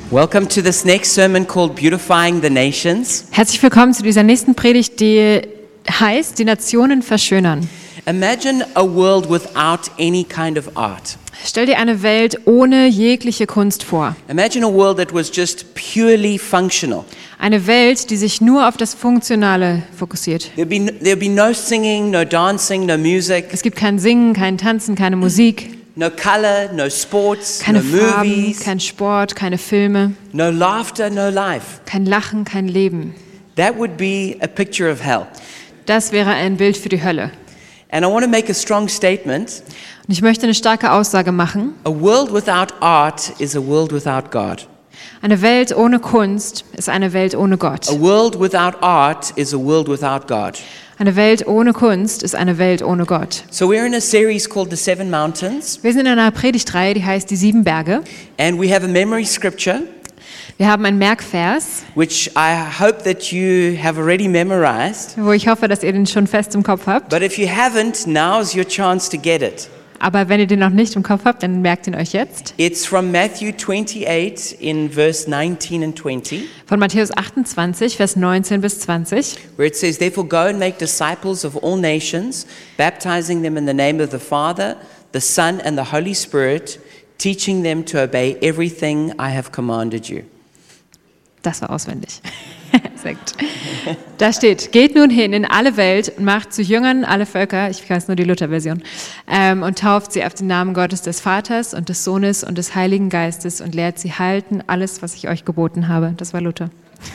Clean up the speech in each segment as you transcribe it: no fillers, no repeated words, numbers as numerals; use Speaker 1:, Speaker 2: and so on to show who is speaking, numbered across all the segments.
Speaker 1: Welcome to this next sermon called Beautifying the Nations.
Speaker 2: Herzlich willkommen zu dieser nächsten Predigt, die heißt, die Nationen verschönern.
Speaker 1: Imagine a world without any kind of art.
Speaker 2: Stell dir eine Welt ohne jegliche Kunst vor.
Speaker 1: Imagine a world that was just purely functional.
Speaker 2: Eine Welt, die sich nur auf das Funktionale fokussiert.
Speaker 1: There'd be no singing, no dancing, no music,
Speaker 2: Es gibt kein Singen, kein Tanzen, keine Musik,
Speaker 1: no color, no sports,
Speaker 2: keine
Speaker 1: no
Speaker 2: Farben,
Speaker 1: movies,
Speaker 2: kein Sport, keine Filme,
Speaker 1: no laughter, no life.
Speaker 2: kein Lachen, kein Leben.
Speaker 1: That would be a picture of hell.
Speaker 2: Das wäre ein Bild für die Hölle.
Speaker 1: And I want to make a strong statement.
Speaker 2: Und ich möchte eine starke Aussage machen.
Speaker 1: A world without art is a world without God.
Speaker 2: Eine Welt ohne Kunst ist eine Welt ohne Gott.
Speaker 1: A world without art is a world without God.
Speaker 2: Eine Welt ohne Kunst ist eine Welt ohne Gott.
Speaker 1: So we're in a series called The Seven Mountains,
Speaker 2: Wir sind in einer Predigtreihe, die heißt die 7 Berge.
Speaker 1: and we have a memory scripture,
Speaker 2: Wir haben einen Merkvers,
Speaker 1: which I hope that you have already memorized.
Speaker 2: wo ich hoffe, dass ihr den schon fest im Kopf habt.
Speaker 1: But if you haven't, now's your chance to get it.
Speaker 2: Aber wenn ihr den noch nicht im Kopf habt, dann merkt ihn euch jetzt.
Speaker 1: It's from Matthew 28 in verse 19 and 20,
Speaker 2: Von Matthäus 28, Vers 19 bis 20.
Speaker 1: where it says, "Therefore go and make disciples of all nations, baptizing them in the name of the Father, the Son, and the Holy Spirit, teaching them to obey everything I have commanded you."
Speaker 2: Das war auswendig. Sehr gut. Da steht, geht nun hin in alle Welt und macht zu Jüngern alle Völker, ich weiß nur die Luther-Version, und tauft sie auf den Namen Gottes des Vaters und des Sohnes und des Heiligen Geistes und lehrt sie halten alles, was ich euch geboten habe. Das war Luther.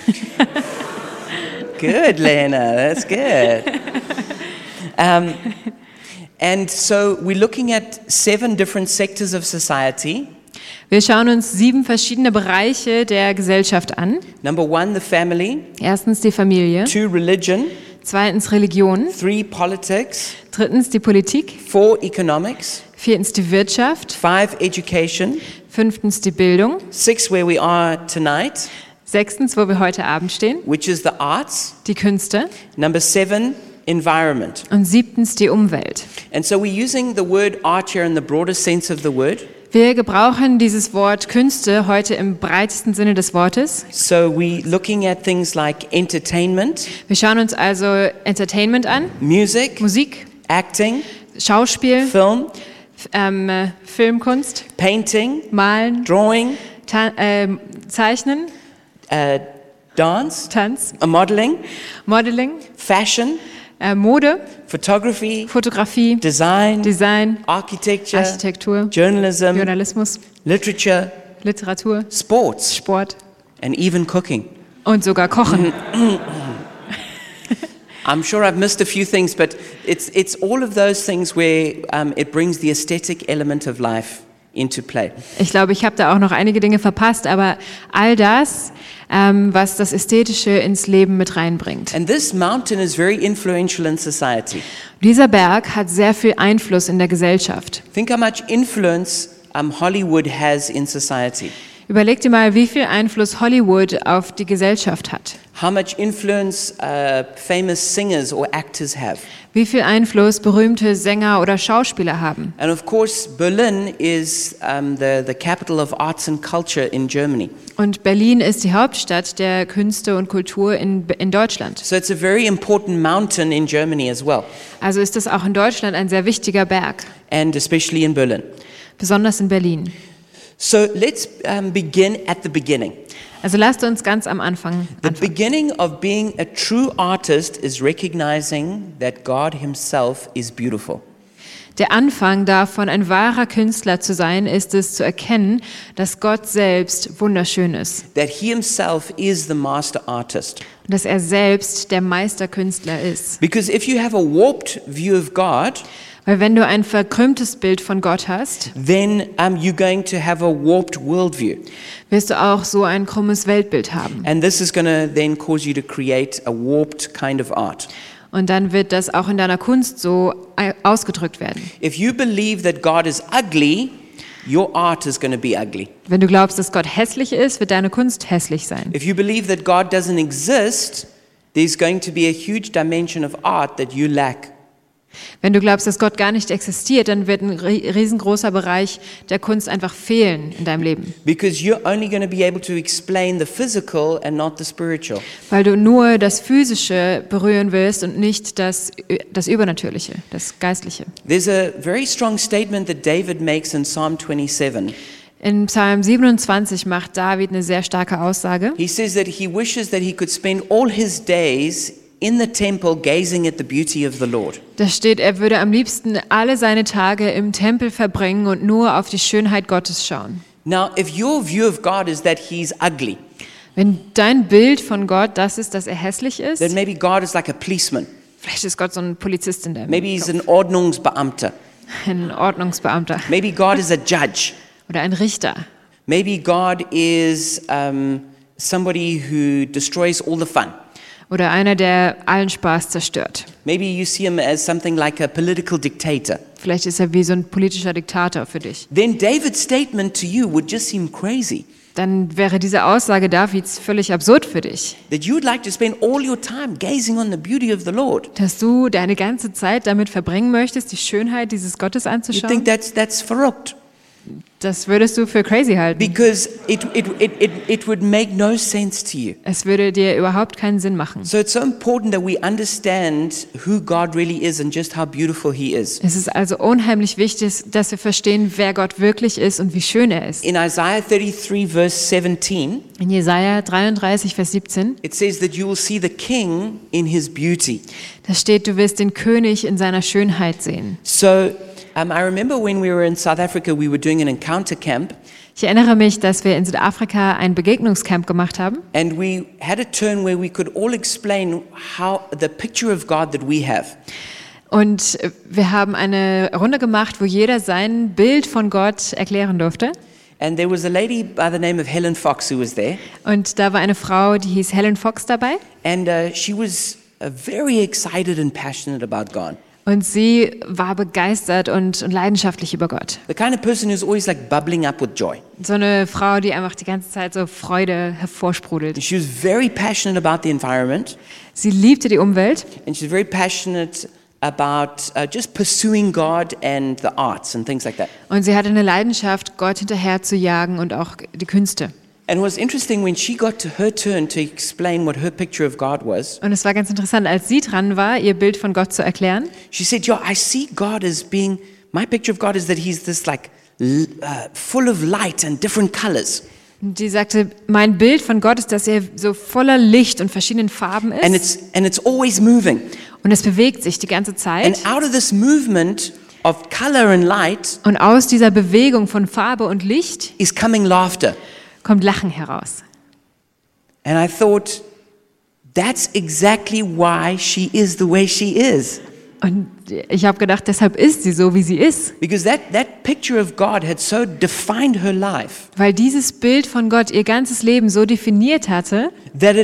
Speaker 1: Good, Lena. That's good. And so we're looking at 7 different sectors of society.
Speaker 2: Wir schauen uns 7 verschiedene Bereiche der Gesellschaft an.
Speaker 1: Number 1, the family.
Speaker 2: Erstens die Familie,
Speaker 1: 2, religion.
Speaker 2: zweitens Religion,
Speaker 1: 3, politics.
Speaker 2: drittens die Politik,
Speaker 1: 4, economics.
Speaker 2: viertens die Wirtschaft,
Speaker 1: 5, education.
Speaker 2: fünftens die Bildung,
Speaker 1: 6, where we are tonight,
Speaker 2: sechstens, wo wir heute Abend stehen,
Speaker 1: which is the arts.
Speaker 2: die Künste
Speaker 1: Number 7, environment.
Speaker 2: und siebtens die Umwelt.
Speaker 1: And so we're using the word art here in the broader sense of the word.
Speaker 2: Wir gebrauchen dieses Wort Künste heute im breitesten Sinne des Wortes.
Speaker 1: So we're looking at things like entertainment,
Speaker 2: Wir schauen uns also Entertainment an,
Speaker 1: music,
Speaker 2: Musik,
Speaker 1: acting,
Speaker 2: Schauspiel,
Speaker 1: film,
Speaker 2: Filmkunst,
Speaker 1: painting,
Speaker 2: Malen,
Speaker 1: drawing,
Speaker 2: Zeichnen,
Speaker 1: dance,
Speaker 2: Tanz,
Speaker 1: modeling,
Speaker 2: Modeling,
Speaker 1: fashion,
Speaker 2: Mode,
Speaker 1: photography,
Speaker 2: Fotografie,
Speaker 1: design,
Speaker 2: Design,
Speaker 1: architecture,
Speaker 2: Architektur,
Speaker 1: journalism,
Speaker 2: Journalismus,
Speaker 1: literature,
Speaker 2: Literatur,
Speaker 1: sports,
Speaker 2: Sport
Speaker 1: and even cooking.
Speaker 2: und sogar Kochen.
Speaker 1: I'm sure I've missed a few things, but it's all of those things where it brings the aesthetic element of life into play.
Speaker 2: Ich glaube, ich habe da auch noch einige Dinge verpasst, aber all das, was das Ästhetische ins Leben mit reinbringt.
Speaker 1: And this mountain is very influential in society.
Speaker 2: Dieser Berg hat sehr viel Einfluss in der Gesellschaft.
Speaker 1: Think how much influence Hollywood has in society.
Speaker 2: Überleg dir mal, wie viel Einfluss Hollywood auf die Gesellschaft hat.
Speaker 1: How much influence famous singers or actors have.
Speaker 2: Wie viel Einfluss berühmte Sänger oder Schauspieler haben.
Speaker 1: And of course, Berlin is the capital of arts and culture in Germany.
Speaker 2: Und Berlin ist die Hauptstadt der Künste und Kultur in Deutschland.
Speaker 1: So it's a very important mountain in Germany as well,
Speaker 2: Also ist das auch in Deutschland ein sehr wichtiger Berg,
Speaker 1: and especially in Berlin.
Speaker 2: besonders in Berlin.
Speaker 1: So let's begin at the beginning.
Speaker 2: Also lasst uns ganz am Anfang
Speaker 1: The
Speaker 2: anfangen.
Speaker 1: beginning of being a true artist is recognizing that God Himself is beautiful.
Speaker 2: Der Anfang davon, ein wahrer Künstler zu sein, ist es zu erkennen, dass Gott selbst wunderschön ist.
Speaker 1: That He Himself is the master artist.
Speaker 2: Und dass er selbst der Meisterkünstler ist.
Speaker 1: Because if you have a warped view of God,
Speaker 2: Weil wenn du ein verkrümmtes Bild von Gott hast,
Speaker 1: then you're going to have a warped worldview.
Speaker 2: wirst du auch so ein krummes Weltbild haben.
Speaker 1: And this is going to then cause you to create a warped kind of art.
Speaker 2: Und dann wird das auch in deiner Kunst so ausgedrückt werden.
Speaker 1: If you believe that God is ugly, your art is going to be ugly.
Speaker 2: Wenn du glaubst, dass Gott hässlich ist, wird deine Kunst hässlich sein.
Speaker 1: If you believe that God doesn't exist, there's going to be a huge dimension of art that you lack.
Speaker 2: Wenn du glaubst, dass Gott gar nicht existiert, dann wird ein riesengroßer Bereich der Kunst einfach fehlen in deinem Leben.
Speaker 1: Because you're only going to be able to explain the physical and not the spiritual.
Speaker 2: Weil du nur das Physische berühren willst und nicht das Übernatürliche, das Geistliche.
Speaker 1: There's a very strong statement that David makes in Psalm 27.
Speaker 2: In Psalm 27 macht David eine sehr starke Aussage.
Speaker 1: He says that he wishes that he could spend all his days in the temple gazing at the beauty of the Lord.
Speaker 2: Da steht, er würde am liebsten alle seine Tage im Tempel verbringen und nur auf die Schönheit Gottes schauen.
Speaker 1: Now, if your view of God is that he's ugly,
Speaker 2: Wenn dein Bild von Gott das ist, dass er hässlich ist,
Speaker 1: then maybe God is like a policeman.
Speaker 2: vielleicht ist Gott so ein Polizist in der
Speaker 1: Maybe he's an Ordnungsbeamter.
Speaker 2: ein Ordnungsbeamter
Speaker 1: Maybe God is a judge.
Speaker 2: oder ein Richter.
Speaker 1: Maybe God is somebody who destroys all the fun.
Speaker 2: Oder einer, der allen Spaß zerstört.
Speaker 1: Maybe you see him as something like a political dictator.
Speaker 2: Vielleicht ist er wie so ein politischer Diktator für dich.
Speaker 1: Then David's statement to you would just seem crazy.
Speaker 2: Dann wäre diese Aussage Davids völlig absurd für dich.
Speaker 1: That you would like to spend all your time gazing on the beauty of the Lord.
Speaker 2: Dass du deine ganze Zeit damit verbringen möchtest, die Schönheit dieses Gottes
Speaker 1: You
Speaker 2: anzuschauen.
Speaker 1: think that's verrückt.
Speaker 2: Das würdest du für crazy halten.
Speaker 1: Because it would make no sense to you.
Speaker 2: Es würde dir überhaupt keinen Sinn machen.
Speaker 1: So it's so important that we understand who God really is and just how beautiful he is.
Speaker 2: Es ist also unheimlich wichtig, dass wir verstehen, wer Gott wirklich ist und wie schön er ist.
Speaker 1: In Isaiah 33 verse 17,
Speaker 2: In Jesaja 33, Vers 17,
Speaker 1: it says that you will see the king in his beauty.
Speaker 2: da steht, du wirst den König in seiner Schönheit sehen.
Speaker 1: So I remember when we were in South Africa, we were doing an encounter camp,
Speaker 2: Ich erinnere mich, dass wir in Südafrika ein Begegnungscamp gemacht haben.
Speaker 1: and we had a turn where we could all explain how the picture of God that we have.
Speaker 2: Und wir haben eine Runde gemacht, wo jeder sein Bild von Gott erklären durfte.
Speaker 1: And there was a lady by the name of Helen Fox who was there,
Speaker 2: Und da war eine Frau, die hieß Helen Fox dabei.
Speaker 1: and she was very excited and passionate about God.
Speaker 2: Und sie war begeistert und leidenschaftlich über Gott.
Speaker 1: The kind of person who's always like bubbling up with joy.
Speaker 2: So eine Frau, die einfach die ganze Zeit so Freude hervorsprudelt.
Speaker 1: She was very passionate about the environment,
Speaker 2: Sie liebte die Umwelt
Speaker 1: and she's very passionate about just pursuing God and the arts and things like that.
Speaker 2: und sie hatte eine Leidenschaft, Gott hinterher zu jagen und auch die Künste.
Speaker 1: And it was interesting when she got to her turn to explain what her picture of God was.
Speaker 2: Und es war ganz interessant, als sie dran war, ihr Bild von Gott zu erklären.
Speaker 1: She said, "Yo, I see God as being, my picture of God is that he's this like full of light and different colors.
Speaker 2: Und die sagte, mein Bild von Gott ist, dass er so voller Licht und verschiedenen Farben
Speaker 1: And
Speaker 2: ist.
Speaker 1: it's always moving.
Speaker 2: Und es bewegt sich die ganze Zeit.
Speaker 1: And out of this movement of color and light
Speaker 2: Und aus dieser Bewegung von Farbe und Licht
Speaker 1: is coming laughter."
Speaker 2: kommt Lachen heraus.
Speaker 1: And I thought, that's exactly why she is the way she is.
Speaker 2: Und ich habe gedacht, deshalb ist sie so, wie sie ist.
Speaker 1: Because that picture of God had so defined her life
Speaker 2: Weil dieses Bild von Gott ihr ganzes Leben so definiert hatte,
Speaker 1: that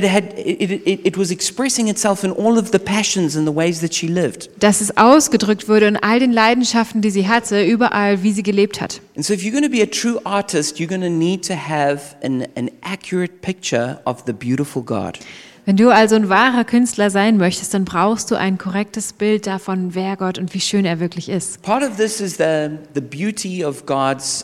Speaker 1: it was expressing itself in all of the passions and the ways that she lived.
Speaker 2: dass es ausgedrückt wurde in all den Leidenschaften, die sie hatte, überall, wie sie gelebt hat.
Speaker 1: And so if you're going to be a true artist, you're going to need to have an accurate picture of the beautiful God.
Speaker 2: Wenn du also ein wahrer Künstler sein möchtest, dann brauchst du ein korrektes Bild davon, wer Gott und wie schön er wirklich ist.
Speaker 1: Part of this is the beauty of God's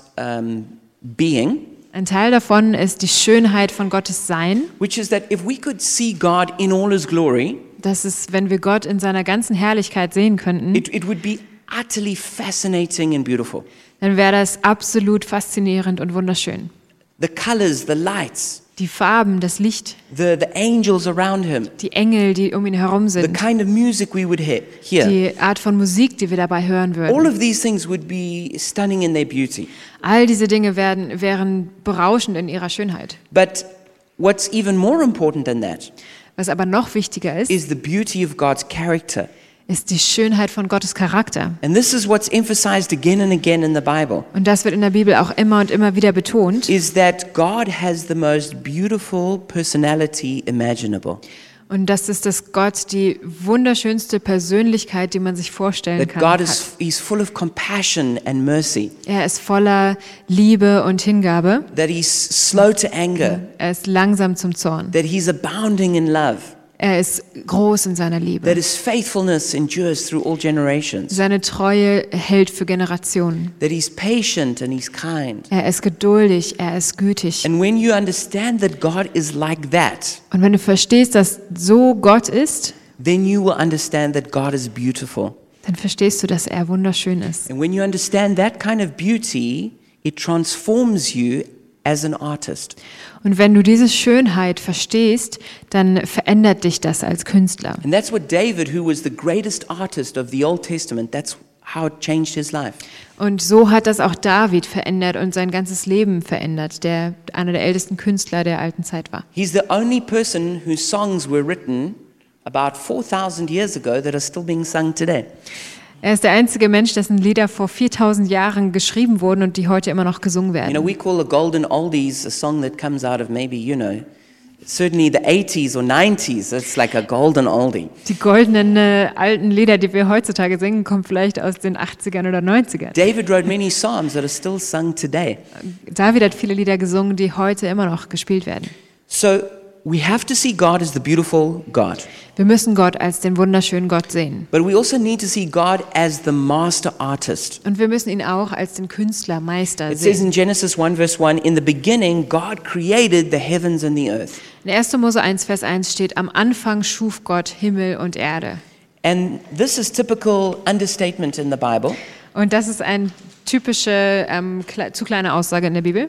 Speaker 1: being,
Speaker 2: Ein Teil davon ist die Schönheit von Gottes Sein.
Speaker 1: which is that if we could see God in all his glory,
Speaker 2: Das ist, wenn wir Gott in seiner ganzen Herrlichkeit sehen könnten,
Speaker 1: it would be utterly fascinating and beautiful.
Speaker 2: dann wäre das absolut faszinierend und wunderschön.
Speaker 1: The colors, the lights,
Speaker 2: Die Farben, das Licht,
Speaker 1: the angels around him,
Speaker 2: die Engel, die um ihn herum
Speaker 1: the
Speaker 2: sind,
Speaker 1: kind of music we would hear.
Speaker 2: die Art von Musik, die wir dabei hören
Speaker 1: All
Speaker 2: würden.
Speaker 1: of these things would be stunning in their beauty.
Speaker 2: All diese Dinge wären berauschend in ihrer Schönheit.
Speaker 1: But what's even more important than that
Speaker 2: Was aber noch wichtiger ist,
Speaker 1: is the beauty of God's character.
Speaker 2: ist die Schönheit von Gottes Charakter.
Speaker 1: And this is what's emphasized again and again in the Bible,
Speaker 2: Und das wird in der Bibel auch immer und immer wieder betont.
Speaker 1: is that God has the most beautiful personality imaginable.
Speaker 2: Und das ist, dass Gott die wunderschönste Persönlichkeit, die man sich vorstellen
Speaker 1: That
Speaker 2: kann,
Speaker 1: God
Speaker 2: hat.
Speaker 1: he's full of compassion and mercy.
Speaker 2: Er ist voller Liebe und Hingabe.
Speaker 1: That he's slow to anger.
Speaker 2: Er ist langsam zum Zorn.
Speaker 1: That he's abounding in love.
Speaker 2: Er ist groß in seiner Liebe.
Speaker 1: that his faithfulness endures through all generations,
Speaker 2: Seine Treue hält für Generationen.
Speaker 1: that he's patient and he's kind.
Speaker 2: Er ist geduldig, er ist gütig.
Speaker 1: And when you understand that God is like that,
Speaker 2: Und wenn du verstehst, dass so Gott ist,
Speaker 1: then you will understand that God is beautiful.
Speaker 2: dann verstehst du, dass er wunderschön ist.
Speaker 1: And when you understand that kind of beauty, it transforms you as an artist.
Speaker 2: Und wenn du diese Schönheit verstehst, dann verändert dich das als Künstler.
Speaker 1: And that's what David, who was the greatest artist of the Old Testament, that's how it changed his life.
Speaker 2: Und so hat das auch David verändert und sein ganzes Leben verändert, der einer der ältesten Künstler der alten Zeit war.
Speaker 1: He's the only person whose songs were written about 4,000 years ago that are still being sung today.
Speaker 2: Er ist der einzige Mensch, dessen Lieder vor 4000 Jahren geschrieben wurden und die heute immer noch gesungen
Speaker 1: You know,
Speaker 2: werden.
Speaker 1: we call a golden oldies a song that comes out of maybe, certainly the 80s or 90s. It's like a golden oldie.
Speaker 2: Die goldenen alten Lieder, die wir heutzutage singen, kommen vielleicht aus den 80ern oder 90ern.
Speaker 1: David wrote many psalms that are still sung today.
Speaker 2: David hat viele Lieder gesungen, die heute immer noch gespielt werden.
Speaker 1: So we have to see God as the beautiful God.
Speaker 2: Wir müssen Gott als den wunderschönen Gott sehen.
Speaker 1: But we also need to see God as the master artist.
Speaker 2: Und wir müssen ihn auch als den Künstler, Meister
Speaker 1: It says
Speaker 2: sehen.
Speaker 1: in Genesis 1 verse 1, in the beginning God created the heavens and the earth.
Speaker 2: In 1. Mose 1, Vers 1 steht, am Anfang schuf Gott Himmel und Erde.
Speaker 1: And this is typical understatement in the Bible.
Speaker 2: Und das ist eine typische, zu kleine Aussage in der Bibel.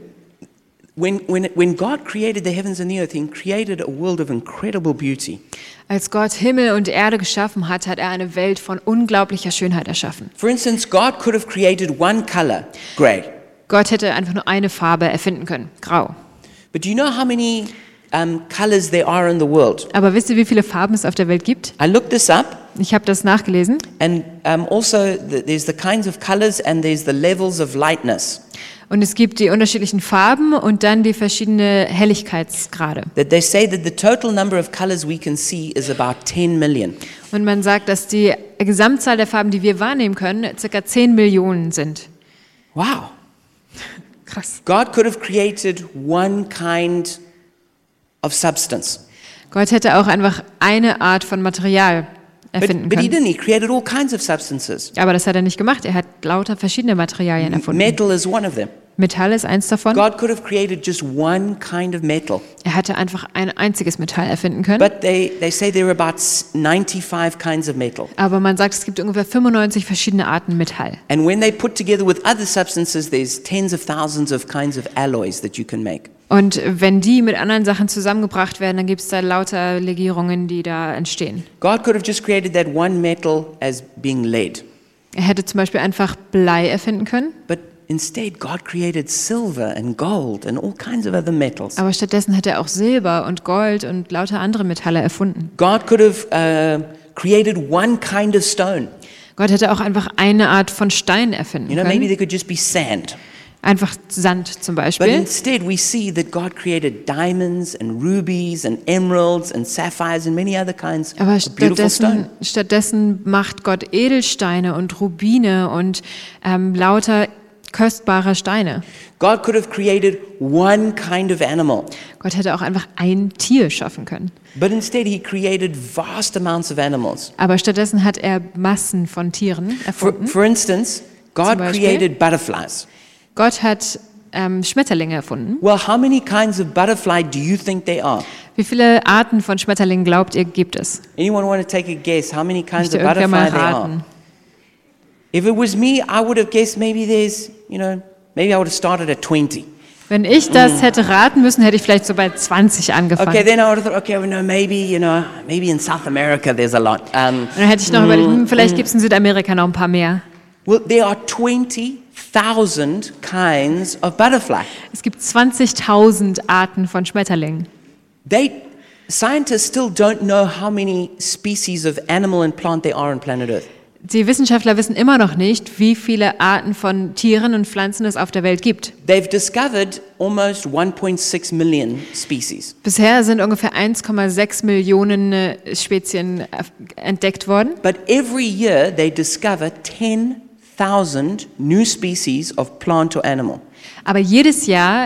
Speaker 1: When God created the heavens and the earth, He created a world of incredible beauty.
Speaker 2: Als Gott Himmel und Erde geschaffen hat, hat er eine Welt von unglaublicher Schönheit erschaffen.
Speaker 1: For instance, God could have created one color, gray.
Speaker 2: Gott hätte einfach nur eine Farbe erfinden können, grau.
Speaker 1: But do you know how many colors there are in the world?
Speaker 2: Aber wisst ihr, wie viele Farben es auf der Welt gibt?
Speaker 1: I looked this up,
Speaker 2: Ich habe das nachgelesen.
Speaker 1: and also there's the kinds of colors and there's the levels of lightness.
Speaker 2: Und es gibt die unterschiedlichen Farben und dann die verschiedenen Helligkeitsgrade.
Speaker 1: That they say that the total number of colors we can see is about 10 million.
Speaker 2: Und man sagt, dass die Gesamtzahl der Farben, die wir wahrnehmen können, ca. 10 Millionen sind.
Speaker 1: Wow.
Speaker 2: Krass.
Speaker 1: God could have created one kind of substance.
Speaker 2: Gott hätte auch einfach eine Art von Material erfinden
Speaker 1: But He
Speaker 2: können.
Speaker 1: didn't. He created all kinds of substances.
Speaker 2: Aber das hat er nicht gemacht. Er hat lauter verschiedene Materialien erfunden.
Speaker 1: Metal is one of them.
Speaker 2: Metall ist eins davon.
Speaker 1: God could have created just one kind of metal.
Speaker 2: Er hatte einfach ein einziges Metall erfinden können.
Speaker 1: But they say there are about 95 kinds of metal.
Speaker 2: Aber man sagt, es gibt ungefähr 95 verschiedene Arten Metall.
Speaker 1: And when they put together with other substances, there's tens of thousands of kinds of alloys that you can make.
Speaker 2: Und wenn die mit anderen Sachen zusammengebracht werden, dann gibt es da lauter Legierungen, die da entstehen.
Speaker 1: God could have just created that one metal as being lead.
Speaker 2: Er hätte zum Beispiel einfach Blei erfinden können,
Speaker 1: But instead, God created silver and gold and all kinds of other metals.
Speaker 2: aber stattdessen hat er auch Silber und Gold und lauter andere Metalle erfunden.
Speaker 1: God could have created one kind of stone.
Speaker 2: Gott hätte auch einfach eine Art von Stein erfinden
Speaker 1: Maybe
Speaker 2: können,
Speaker 1: there could just be sand.
Speaker 2: einfach Sand zum
Speaker 1: But
Speaker 2: Beispiel.
Speaker 1: instead, we see that God created diamonds and rubies and emeralds and sapphires and many other kinds
Speaker 2: Aber
Speaker 1: of beautiful stone.
Speaker 2: stattdessen macht Gott Edelsteine und Rubine und lauter kostbare Steine.
Speaker 1: God could have created one kind of animal.
Speaker 2: Gott hätte auch einfach ein Tier schaffen können.
Speaker 1: But instead, He created vast amounts of animals.
Speaker 2: Aber stattdessen hat er Massen von Tieren erfunden.
Speaker 1: For instance, God
Speaker 2: Beispiel?
Speaker 1: created butterflies.
Speaker 2: Gott hat Schmetterlinge erfunden.
Speaker 1: Well, how many kinds of butterfly do you think there are?
Speaker 2: Wie viele Arten von Schmetterlingen glaubt ihr, gibt es?
Speaker 1: Anyone want to take a guess how many kinds
Speaker 2: Möchte
Speaker 1: of
Speaker 2: irgendwer
Speaker 1: butterfly
Speaker 2: mal
Speaker 1: there are?
Speaker 2: raten?
Speaker 1: If it was me, I would have guessed maybe there's, maybe I would have started at 20.
Speaker 2: Wenn ich das hätte raten müssen, hätte ich vielleicht so bei 20 angefangen.
Speaker 1: Okay, then I would have thought, okay, well, no, maybe in South America there's a lot.
Speaker 2: Und dann hätte ich noch überlegt, vielleicht gibt es in Südamerika noch ein paar mehr.
Speaker 1: Well, there are 20,000 kinds of butterfly.
Speaker 2: Es gibt 20.000 Arten von Schmetterlingen.
Speaker 1: Scientists still don't know how many species of animal and plant there are on planet Earth.
Speaker 2: Die Wissenschaftler wissen immer noch nicht, wie viele Arten von Tieren und Pflanzen es auf der Welt gibt.
Speaker 1: They've discovered almost 1.6 million species.
Speaker 2: Bisher sind ungefähr 1,6 Millionen Spezien entdeckt worden.
Speaker 1: But every year they discover 10,000 new species of plant or animal.
Speaker 2: Aber jedes Jahr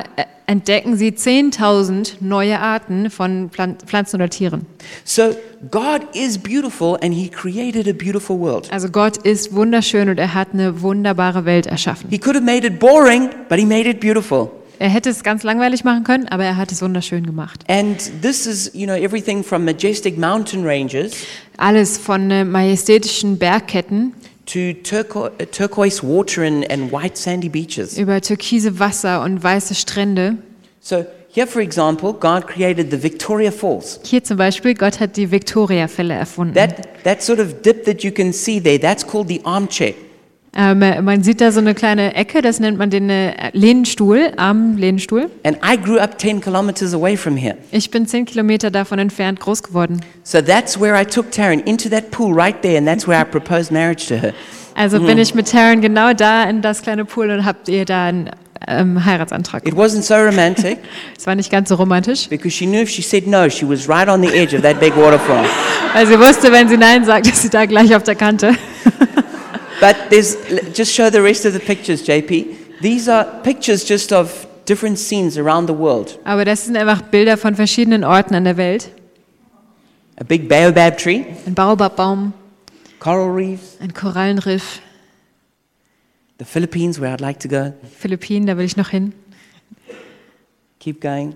Speaker 2: entdecken sie 10.000 neue Arten von Pflanzen oder Tieren.
Speaker 1: So God is beautiful and he created a beautiful world.
Speaker 2: Also Gott ist wunderschön und er hat eine wunderbare Welt erschaffen.
Speaker 1: He could have made it boring, but he made it beautiful.
Speaker 2: Er hätte es ganz langweilig machen können, aber er hat es wunderschön gemacht.
Speaker 1: And this is, everything from majestic mountain ranges
Speaker 2: Alles von majestätischen Bergketten
Speaker 1: to turquoise water and white sandy beaches.
Speaker 2: über türkise Wasser und weiße Strände.
Speaker 1: So here, for example, God created the Victoria Falls.
Speaker 2: Hier zum Beispiel, Gott hat die Victoria-Fälle erfunden.
Speaker 1: That sort of dip that you can see there, that's called the armchair.
Speaker 2: Man sieht da so eine kleine Ecke, das nennt man den Lehnstuhl, Armlehnstuhl.
Speaker 1: And I grew up 10 kilometers away from here.
Speaker 2: Ich bin 10 Kilometer davon entfernt groß geworden.
Speaker 1: So that's where I took Taryn into that pool right there, and that's where I proposed marriage to her.
Speaker 2: Also bin ich mit Taryn genau da in das kleine Pool und habt ihr da einen Heiratsantrag.
Speaker 1: It wasn't so romantic
Speaker 2: Es war nicht ganz so romantisch,
Speaker 1: because she knew if she said no, she was right on the edge of that big waterfall.
Speaker 2: weil sie wusste, wenn sie Nein sagt, ist sie da gleich auf der Kante.
Speaker 1: But just show the rest of the pictures, JP. These are pictures just of different scenes around the world.
Speaker 2: Aber das sind einfach Bilder von verschiedenen Orten an der Welt.
Speaker 1: A big baobab tree,
Speaker 2: Ein Baobabbaum,
Speaker 1: coral reefs,
Speaker 2: ein Korallenriff,
Speaker 1: the Philippines, where I'd like to go.
Speaker 2: Philippinen, da will ich noch hin.
Speaker 1: Keep going.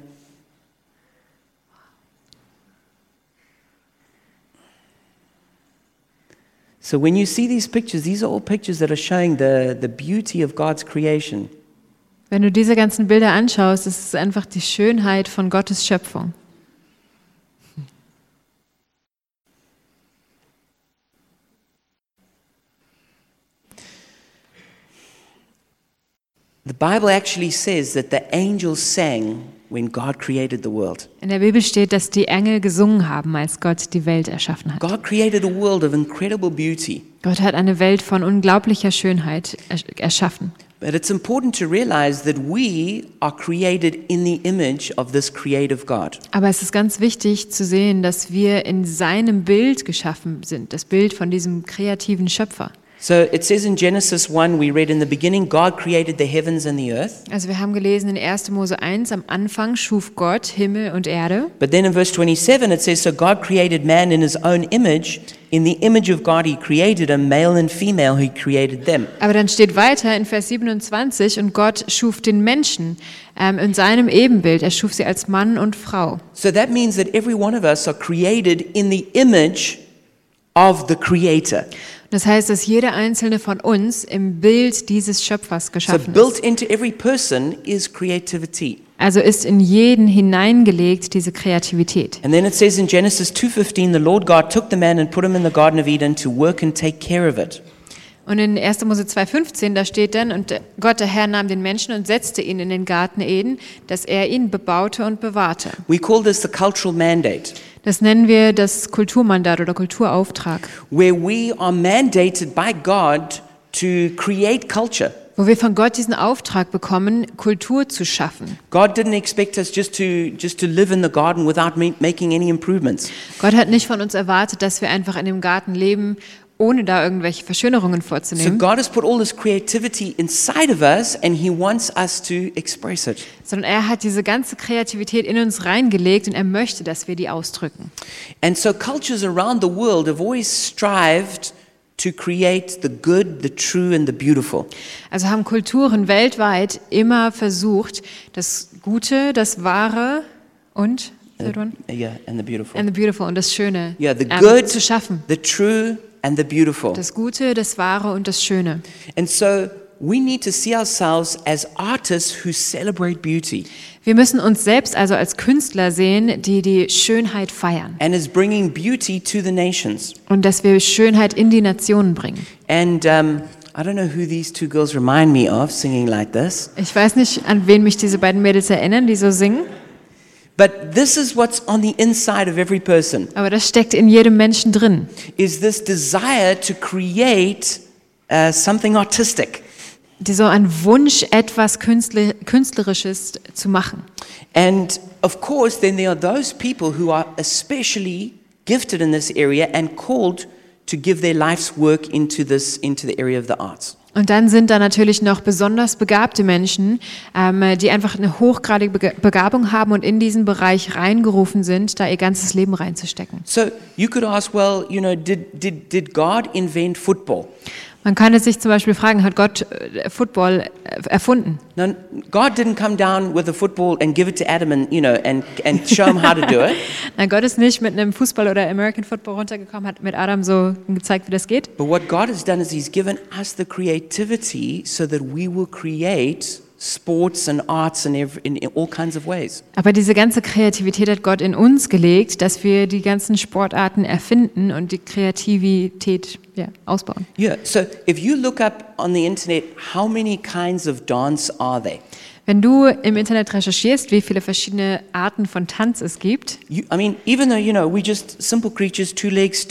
Speaker 1: So when you see these are all pictures that are showing the beauty of God's creation.
Speaker 2: Wenn du diese ganzen Bilder anschaust, ist es einfach die Schönheit von Gottes Schöpfung.
Speaker 1: The Bible actually says that the angels sang when God created the world.
Speaker 2: In der Bibel steht, dass die Engel gesungen haben, als Gott die Welt erschaffen hat.
Speaker 1: God created a world of incredible beauty.
Speaker 2: Gott hat eine Welt von unglaublicher Schönheit erschaffen.
Speaker 1: But it's important to realize that we are created in the image of this creative God.
Speaker 2: Aber es ist ganz wichtig zu sehen, dass wir in seinem Bild geschaffen sind, das Bild von diesem kreativen Schöpfer.
Speaker 1: So it says in Genesis 1, we read in the beginning, God created the heavens and the earth.
Speaker 2: Also wir haben gelesen in 1. Mose 1, am Anfang schuf Gott Himmel und Erde.
Speaker 1: But then in verse 27 it says, so God created man in his own image. In the image of God he created him, male and female he created them.
Speaker 2: Aber dann steht weiter in Vers 27, und Gott schuf den Menschen in seinem Ebenbild. Er schuf sie als Mann und Frau.
Speaker 1: So that means that every one of us are created in the image of the Creator.
Speaker 2: Das heißt, dass jeder einzelne von uns im Bild dieses Schöpfers
Speaker 1: So
Speaker 2: geschaffen
Speaker 1: built
Speaker 2: ist.
Speaker 1: into every person is creativity.
Speaker 2: Also ist in jeden hineingelegt diese Kreativität.
Speaker 1: And then it says in Genesis 2:15, the Lord God took the man and put him in the Garden of Eden to work and take care of it.
Speaker 2: Und in 1. Mose 2,15, da steht dann, und Gott, der Herr, nahm den Menschen und setzte ihn in den Garten Eden, dass er ihn bebaute und bewahrte.
Speaker 1: We call this the cultural mandate,
Speaker 2: Das nennen wir das Kulturmandat oder Kulturauftrag,
Speaker 1: where we are mandated by God to create culture.
Speaker 2: wo wir von Gott diesen Auftrag bekommen, Kultur zu schaffen.
Speaker 1: God didn't expect us just to live in the garden without making any improvements.
Speaker 2: Gott hat nicht von uns erwartet, dass wir einfach in dem Garten leben, ohne da irgendwelche Verschönerungen
Speaker 1: So
Speaker 2: vorzunehmen,
Speaker 1: God has put all this creativity inside of us and he wants us to express it.
Speaker 2: sondern er hat diese ganze Kreativität in uns reingelegt und er möchte, dass wir die ausdrücken.
Speaker 1: And so cultures around the world have always strived to create the good, the true and the beautiful.
Speaker 2: Also haben Kulturen weltweit immer versucht, das Gute, das Wahre und
Speaker 1: Yeah, and the beautiful.
Speaker 2: and the beautiful und das Schöne
Speaker 1: Yeah, the good,
Speaker 2: zu schaffen.
Speaker 1: the true and the beautiful.
Speaker 2: Das Gute, das Wahre und das Schöne.
Speaker 1: And so we need to see ourselves as artists who celebrate beauty
Speaker 2: Wir müssen uns selbst also als Künstler sehen, die die Schönheit feiern
Speaker 1: and as bringing beauty to the nations.
Speaker 2: und dass wir Schönheit in die Nationen bringen.
Speaker 1: And I don't know who these two girls remind me of singing like this,
Speaker 2: Ich weiß nicht, an wen mich diese beiden Mädels erinnern, die so singen,
Speaker 1: but this is what's on the inside of every person,
Speaker 2: aber das steckt in jedem Menschen drin.
Speaker 1: is this desire to create something artistic.
Speaker 2: So ein Wunsch, etwas Künstlerisches zu machen.
Speaker 1: And of course, then there are those people who are especially gifted in this area and called to give their life's work into the area of the arts.
Speaker 2: Und dann sind da natürlich noch besonders begabte Menschen, die einfach eine hochgradige Begabung haben und in diesen Bereich reingerufen sind, da ihr ganzes Leben reinzustecken.
Speaker 1: So you could ask, well, did God invent football?
Speaker 2: Man kann es sich zum Beispiel fragen, hat Gott Football erfunden?
Speaker 1: No, God didn't come down with a football and give it to Adam and show him how to do it.
Speaker 2: Nein, Gott ist nicht mit einem Fußball oder American Football runtergekommen, hat mit Adam so gezeigt, wie das geht.
Speaker 1: But what God has done is He's given us the creativity so that we will create sports and arts in all kinds of ways.
Speaker 2: Aber diese ganze Kreativität hat Gott in uns gelegt, dass wir die ganzen Sportarten erfinden und die Kreativität ausbauen.
Speaker 1: Yeah. So if you look up on the internet, how many kinds of dance are there?
Speaker 2: Wenn du im Internet recherchierst, wie viele verschiedene Arten von Tanz es gibt,
Speaker 1: Even though we're just simple creatures, 2 legs,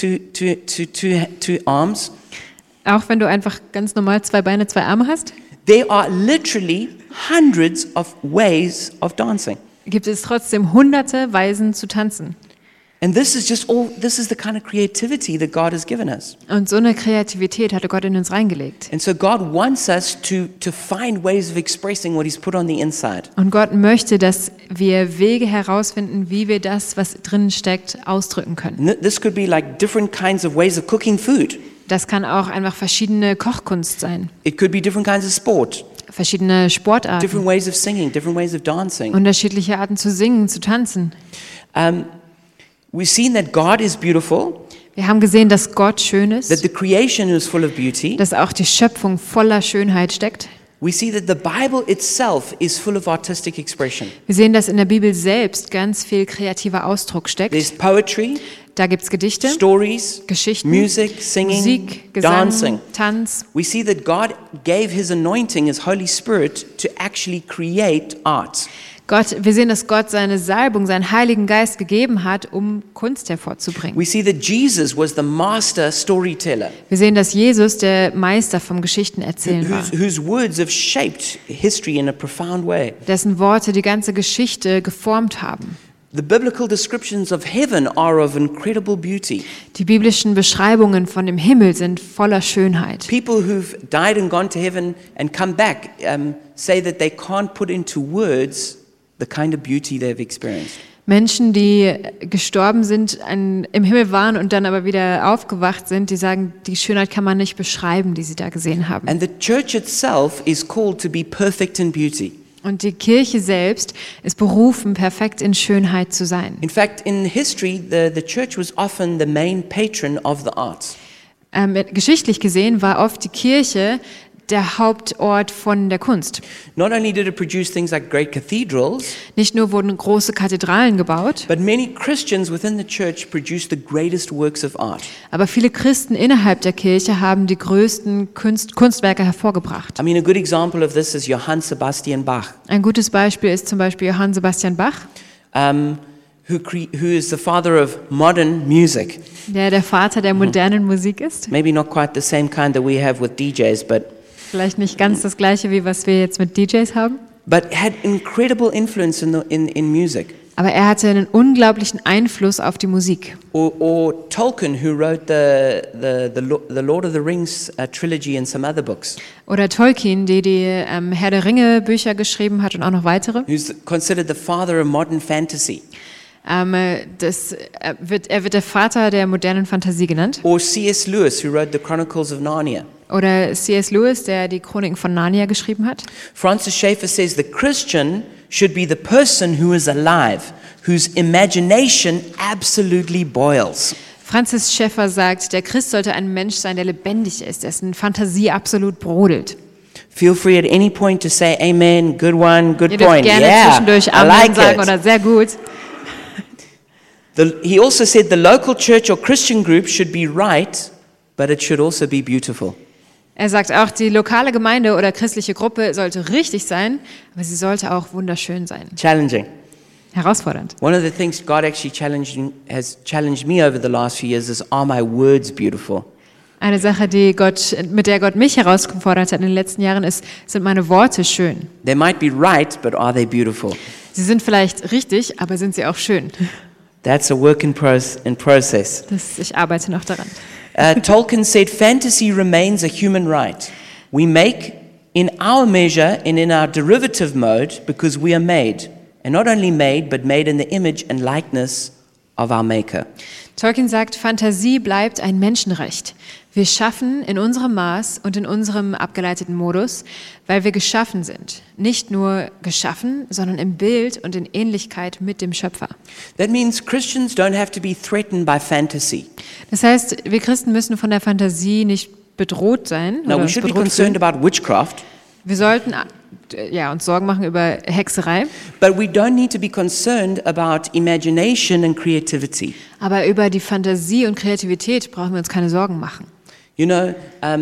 Speaker 1: two arms.
Speaker 2: auch wenn du einfach ganz normal 2 Beine, 2 Arme hast,
Speaker 1: There are literally hundreds of ways of dancing.
Speaker 2: gibt es trotzdem hunderte Weisen zu tanzen.
Speaker 1: And this is the kind of creativity that God has given us.
Speaker 2: Und so eine Kreativität hatte Gott in uns reingelegt.
Speaker 1: And so God wants us to find ways of expressing what He's put on the inside.
Speaker 2: Und Gott möchte, dass wir Wege herausfinden, wie wir das, was drinnen steckt, ausdrücken können.
Speaker 1: And this could be like different kinds of ways of cooking food.
Speaker 2: Das kann auch einfach verschiedene Kochkunst sein,
Speaker 1: It could be different kinds of sport,
Speaker 2: verschiedene Sportarten,
Speaker 1: different ways of singing, different ways of dancing.
Speaker 2: unterschiedliche Arten zu singen, zu tanzen.
Speaker 1: We've seen that God is beautiful,
Speaker 2: Wir haben gesehen, dass Gott schön
Speaker 1: that
Speaker 2: ist,
Speaker 1: the creation is full of beauty.
Speaker 2: dass auch die Schöpfung voller Schönheit steckt.
Speaker 1: We see that the Bible itself is full of artistic expression.
Speaker 2: Wir sehen, dass in der Bibel selbst ganz viel kreativer Ausdruck steckt.
Speaker 1: There's poetry,
Speaker 2: Da gibt es Gedichte,
Speaker 1: stories,
Speaker 2: Geschichten,
Speaker 1: music, singing,
Speaker 2: Musik, Gesang,
Speaker 1: dancing.
Speaker 2: Tanz.
Speaker 1: We see that God gave His anointing, His Holy Spirit, to actually create art.
Speaker 2: Wir sehen, dass Gott seine Salbung, seinen Heiligen Geist gegeben hat, um Kunst hervorzubringen.
Speaker 1: We see that Jesus was the master storyteller,
Speaker 2: Wir sehen, dass Jesus der Meister vom Geschichtenerzählen war,
Speaker 1: whose words have shaped history in a profound way.
Speaker 2: dessen Worte die ganze Geschichte geformt haben.
Speaker 1: The biblical descriptions of heaven are of incredible beauty.
Speaker 2: Die biblischen Beschreibungen von dem Himmel sind voller Schönheit.
Speaker 1: People who've died and gone to heaven and come back say that they can't put into words the kind of beauty they've experienced.
Speaker 2: Menschen, die gestorben sind, im Himmel waren und dann aber wieder aufgewacht sind, die sagen, die Schönheit kann man nicht beschreiben, die sie da gesehen haben.
Speaker 1: And the church itself is called to be perfect in beauty.
Speaker 2: Und die Kirche selbst ist berufen, perfekt in Schönheit zu sein.
Speaker 1: In fact, in history, the church was often the main patron of the arts.
Speaker 2: Geschichtlich gesehen war oft die Kirche der Hauptort von der Kunst.
Speaker 1: Not only did it produce things like great cathedrals,
Speaker 2: Nicht nur wurden große Kathedralen gebaut,
Speaker 1: but many Christians within the church produced the greatest works of art.
Speaker 2: aber viele Christen innerhalb der Kirche haben die größten Kunstwerke hervorgebracht.
Speaker 1: I mean, a good example of this is Johann Sebastian Bach,
Speaker 2: Ein gutes Beispiel ist zum Beispiel Johann Sebastian Bach,
Speaker 1: who is the father of modern music.
Speaker 2: der Vater der modernen Musik ist.
Speaker 1: Maybe not quite the same kind that we have with DJs, but
Speaker 2: Vielleicht nicht ganz das Gleiche, wie was wir jetzt mit DJs haben.
Speaker 1: had incredible influence in music.
Speaker 2: Aber er hatte einen unglaublichen Einfluss auf die Musik.
Speaker 1: Or Tolkien, who wrote the Lord of the Rings trilogy and some other books,
Speaker 2: Oder Tolkien, die Herr der Ringe Bücher geschrieben hat und auch noch weitere.
Speaker 1: who's considered the father of modern fantasy.
Speaker 2: Er wird der Vater der modernen Fantasie genannt.
Speaker 1: Or C.S. Lewis, who wrote the Chronicles of Narnia.
Speaker 2: Oder C.S. Lewis, der die Chroniken von Narnia geschrieben hat.
Speaker 1: Francis Schaeffer says the Christian should be the person who is alive, whose imagination absolutely boils.
Speaker 2: Francis Schaeffer sagt, der Christ sollte ein Mensch sein, der lebendig ist, dessen Fantasie absolut brodelt.
Speaker 1: Feel free at any point to say amen, good one, good
Speaker 2: Ihr dürft
Speaker 1: point.
Speaker 2: gerne
Speaker 1: Yeah,
Speaker 2: zwischendurch
Speaker 1: I
Speaker 2: Amen
Speaker 1: like
Speaker 2: sagen
Speaker 1: it.
Speaker 2: oder sehr gut.
Speaker 1: He also said the local church or Christian group should be right, but it should also be beautiful.
Speaker 2: Er sagt auch, die lokale Gemeinde oder christliche Gruppe sollte richtig sein, aber sie sollte auch wunderschön sein.
Speaker 1: Challenging.
Speaker 2: Herausfordernd.
Speaker 1: One of the things God actually has challenged me over the last few years is, are my words beautiful?
Speaker 2: Eine Sache, mit der Gott mich herausgefordert hat in den letzten Jahren, sind meine Worte schön.
Speaker 1: They might be right, but are they beautiful?
Speaker 2: Sie sind vielleicht richtig, aber sind sie auch schön?
Speaker 1: That's a work in process.
Speaker 2: Ich arbeite noch daran.
Speaker 1: Tolkien said fantasy remains a human right. We make in our measure and in our derivative mode because we are made. And not only made, but made in the image and likeness of our Maker.
Speaker 2: Tolkien sagt, Fantasie bleibt ein Menschenrecht. Wir schaffen in unserem Maß und in unserem abgeleiteten Modus, weil wir geschaffen sind. Nicht nur geschaffen, sondern im Bild und in Ähnlichkeit mit dem Schöpfer.
Speaker 1: That means Christians don't have to be threatened by fantasy.
Speaker 2: Das heißt, wir Christen müssen von der Fantasie nicht bedroht sein.
Speaker 1: No,
Speaker 2: oder
Speaker 1: we
Speaker 2: uns
Speaker 1: should be
Speaker 2: bedroht
Speaker 1: concerned
Speaker 2: fühlen.
Speaker 1: about witchcraft,
Speaker 2: Wir sollten uns Sorgen machen über Hexerei,
Speaker 1: but we don't need to be concerned about imagination and creativity.
Speaker 2: aber über die Fantasie und Kreativität brauchen wir uns keine Sorgen machen.
Speaker 1: You know,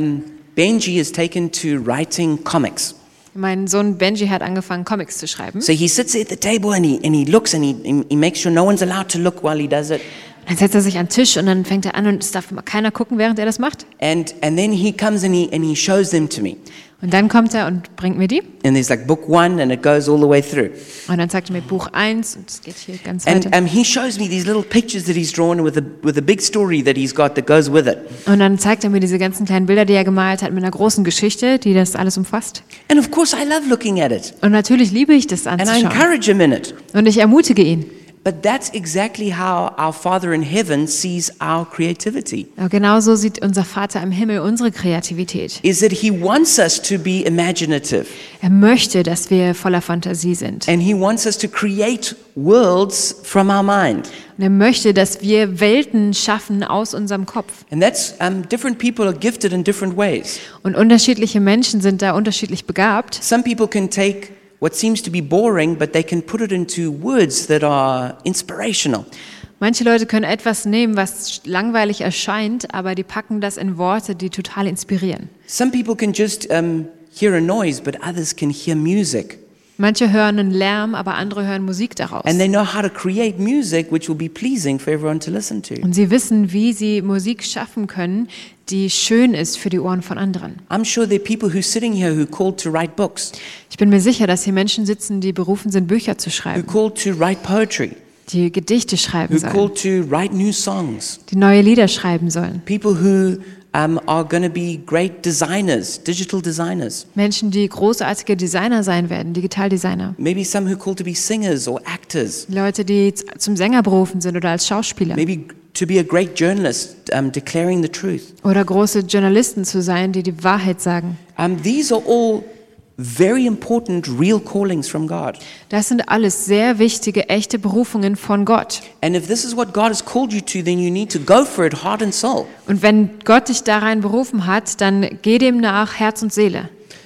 Speaker 1: Benji has taken to writing comics.
Speaker 2: Mein Sohn Benji hat angefangen, Comics zu schreiben.
Speaker 1: So he sits at the table and he looks and he makes sure no one's allowed to look while he does it.
Speaker 2: Dann setzt er sich an den Tisch und dann fängt er an und es darf immer keiner gucken, während er das macht.
Speaker 1: And then he comes and he shows them to me.
Speaker 2: Und dann kommt er und bringt mir die.
Speaker 1: And there's like book 1 and it goes all the way through.
Speaker 2: Und dann zeigt er mir Buch 1 und es geht hier ganz
Speaker 1: And
Speaker 2: weiter.
Speaker 1: he shows me these little pictures that he's drawn with a big story that he's got that goes with it.
Speaker 2: Und dann zeigt er mir diese ganzen kleinen Bilder, die er gemalt hat, mit einer großen Geschichte, die das alles umfasst.
Speaker 1: And of course I love looking at it.
Speaker 2: Und natürlich liebe ich das
Speaker 1: And I
Speaker 2: anzuschauen.
Speaker 1: encourage him in it.
Speaker 2: Und ich ermutige ihn.
Speaker 1: But that's exactly how our Father in heaven sees our creativity.
Speaker 2: Aber genauso sieht unser Vater im Himmel unsere Kreativität.
Speaker 1: Is that he wants us to be imaginative.
Speaker 2: Er möchte, dass wir voller Fantasie sind.
Speaker 1: And he wants us to create worlds from our mind.
Speaker 2: Und er möchte, dass wir Welten schaffen aus unserem Kopf.
Speaker 1: And that's different people are gifted in different ways.
Speaker 2: Und unterschiedliche Menschen sind da unterschiedlich begabt.
Speaker 1: Some people can take what seems to be boring, but they can put it into words that are inspirational.
Speaker 2: Manche Leute können etwas nehmen, was langweilig erscheint, aber die packen das in Worte, die total inspirieren.
Speaker 1: Some people can just hear a noise, but others can hear music.
Speaker 2: Manche hören einen Lärm, aber andere hören Musik daraus.
Speaker 1: And they know how to create music which will be pleasing for everyone to listen to.
Speaker 2: Und sie wissen, wie sie Musik schaffen können, die schön ist für die Ohren von anderen.
Speaker 1: I'm sure there are people who are sitting here who are called to write books,
Speaker 2: Ich bin mir sicher, dass hier Menschen sitzen, die berufen sind, Bücher zu
Speaker 1: who are
Speaker 2: schreiben,
Speaker 1: called to write poetry,
Speaker 2: die Gedichte schreiben
Speaker 1: who are
Speaker 2: sollen,
Speaker 1: called to write new songs,
Speaker 2: die neue Lieder schreiben sollen.
Speaker 1: people who are going to be great designers, digital designers.
Speaker 2: Menschen, die großartige Designer sein werden, Digitaldesigner.
Speaker 1: Maybe some who are called to be singers or actors.
Speaker 2: Leute, die zum Sänger berufen sind oder als Schauspieler.
Speaker 1: Maybe to be a great journalist, declaring the truth.
Speaker 2: Oder große Journalisten zu sein, die die Wahrheit sagen.
Speaker 1: These are all very important, real callings from God.
Speaker 2: Das sind alles sehr wichtige, echte Berufungen von Gott.
Speaker 1: And if this is what God has called you to, then you need to go for it, heart and soul.
Speaker 2: Und wenn Gott dich da rein berufen hat, dann geh dem nach, Herz und Seele.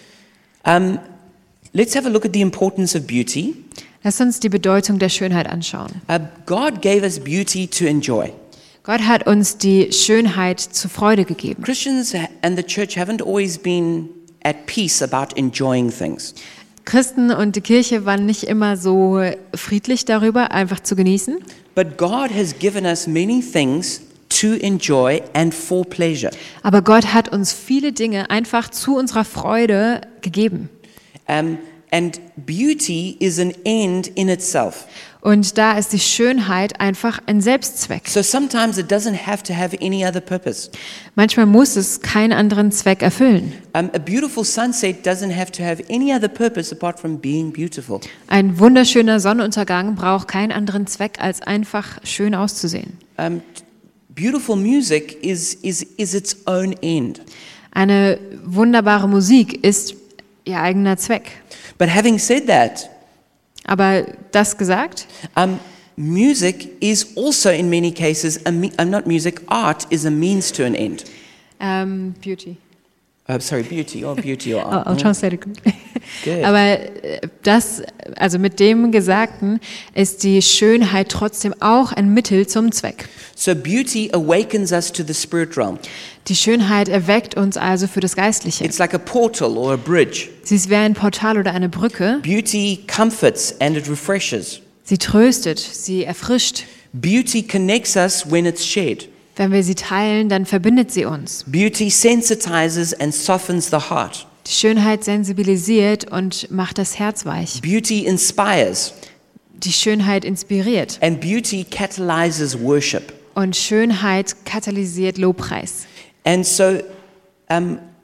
Speaker 1: Let's have a look at the importance of beauty.
Speaker 2: Lass uns die Bedeutung der Schönheit anschauen.
Speaker 1: God gave us beauty to enjoy.
Speaker 2: Gott hat uns die Schönheit zur Freude gegeben.
Speaker 1: Christians and the church haven't always been at peace about enjoying things.
Speaker 2: Christen und die Kirche waren nicht immer so friedlich darüber, einfach zu genießen.
Speaker 1: But God has given us many things to enjoy and for pleasure.
Speaker 2: Aber Gott hat uns viele Dinge einfach zu unserer Freude gegeben.
Speaker 1: And beauty is an end in itself.
Speaker 2: Und da ist die Schönheit einfach ein Selbstzweck.
Speaker 1: So sometimes it doesn't have to have any other purpose.
Speaker 2: Manchmal muss es keinen anderen Zweck erfüllen.
Speaker 1: A beautiful sunset doesn't have to have any other purpose apart from being beautiful.
Speaker 2: Ein wunderschöner Sonnenuntergang braucht keinen anderen Zweck, als einfach schön auszusehen.
Speaker 1: Beautiful music is its own end.
Speaker 2: Eine wunderbare Musik ist ihr eigener Zweck.
Speaker 1: But having said that,
Speaker 2: Aber das gesagt,
Speaker 1: music is also in many cases, not music, art is a means to an end.
Speaker 2: Beauty.
Speaker 1: Beauty or art.
Speaker 2: I'll translate it.
Speaker 1: Good.
Speaker 2: Aber also mit dem Gesagten ist die Schönheit trotzdem auch ein Mittel zum Zweck.
Speaker 1: So beauty awakens us to the spirit realm.
Speaker 2: Die Schönheit erweckt uns also für das Geistliche.
Speaker 1: It's like a portal or a bridge.
Speaker 2: Sie ist wie ein Portal oder eine Brücke.
Speaker 1: Beauty comforts and it refreshes.
Speaker 2: Sie tröstet, sie erfrischt.
Speaker 1: Beauty connects us when it's shared.
Speaker 2: Wenn wir sie teilen, dann verbindet sie uns.
Speaker 1: Beauty sensitizes and softens the heart.
Speaker 2: Die Schönheit sensibilisiert und macht das Herz weich.
Speaker 1: Beauty inspires.
Speaker 2: Die Schönheit inspiriert.
Speaker 1: And beauty catalyzes worship.
Speaker 2: Und Schönheit katalysiert Lobpreis.
Speaker 1: And so